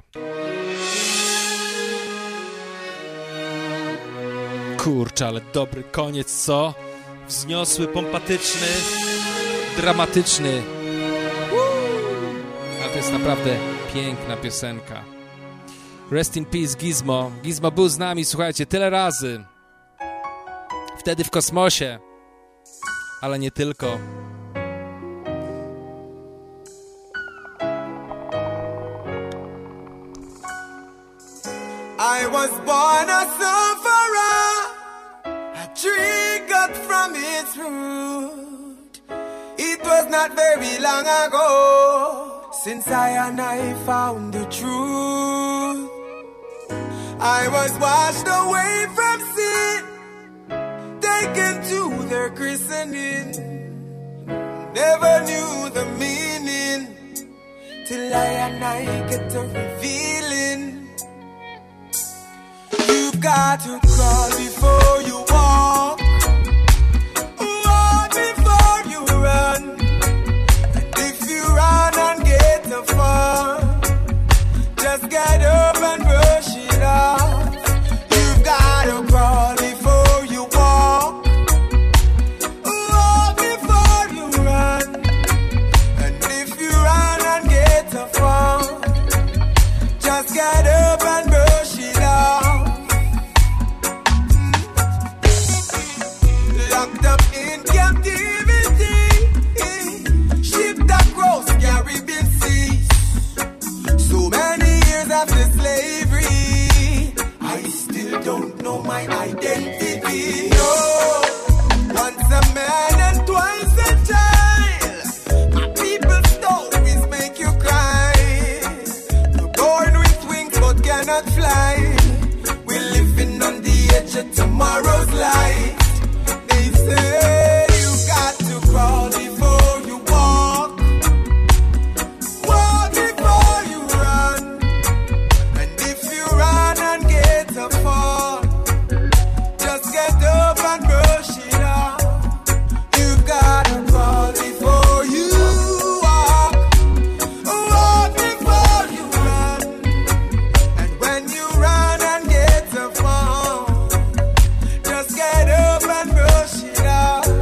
A: Kurczę, ale dobry koniec, co? Wzniosły, pompatyczny, dramatyczny. Ale to jest naprawdę piękna piosenka. Rest in peace, Gizmo. Gizmo był z nami, słuchajcie, tyle razy. Wtedy w kosmosie, ale nie tylko.
U: I was born a sufferer, a tree cut from its root. It was not very long ago since I found the truth. I was washed away from sin, taken to their christening. Never knew the meaning till I get to revealing. You've got to crawl before you walk, walk before you run. And if you run and get too far, just get up and brush it off. You've got to crawl before you walk, walk before you run. And if you run and get too far, just get up and brush it off. Locked up in captivity, shipped across Caribbean seas. So many years after slavery, I still don't know my identity. No, once a man and twice a child. My people's stories make you cry. We're born with wings but cannot fly. We're living on the edge of tomorrow's light. Say you got to crawl before you walk, walk before you run. And if you run and get a fall, just get up and brush it off. You gotta crawl before you walk, walk before you run. And when you run and get a fall, just get up and brush it off.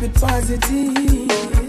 S: it positive.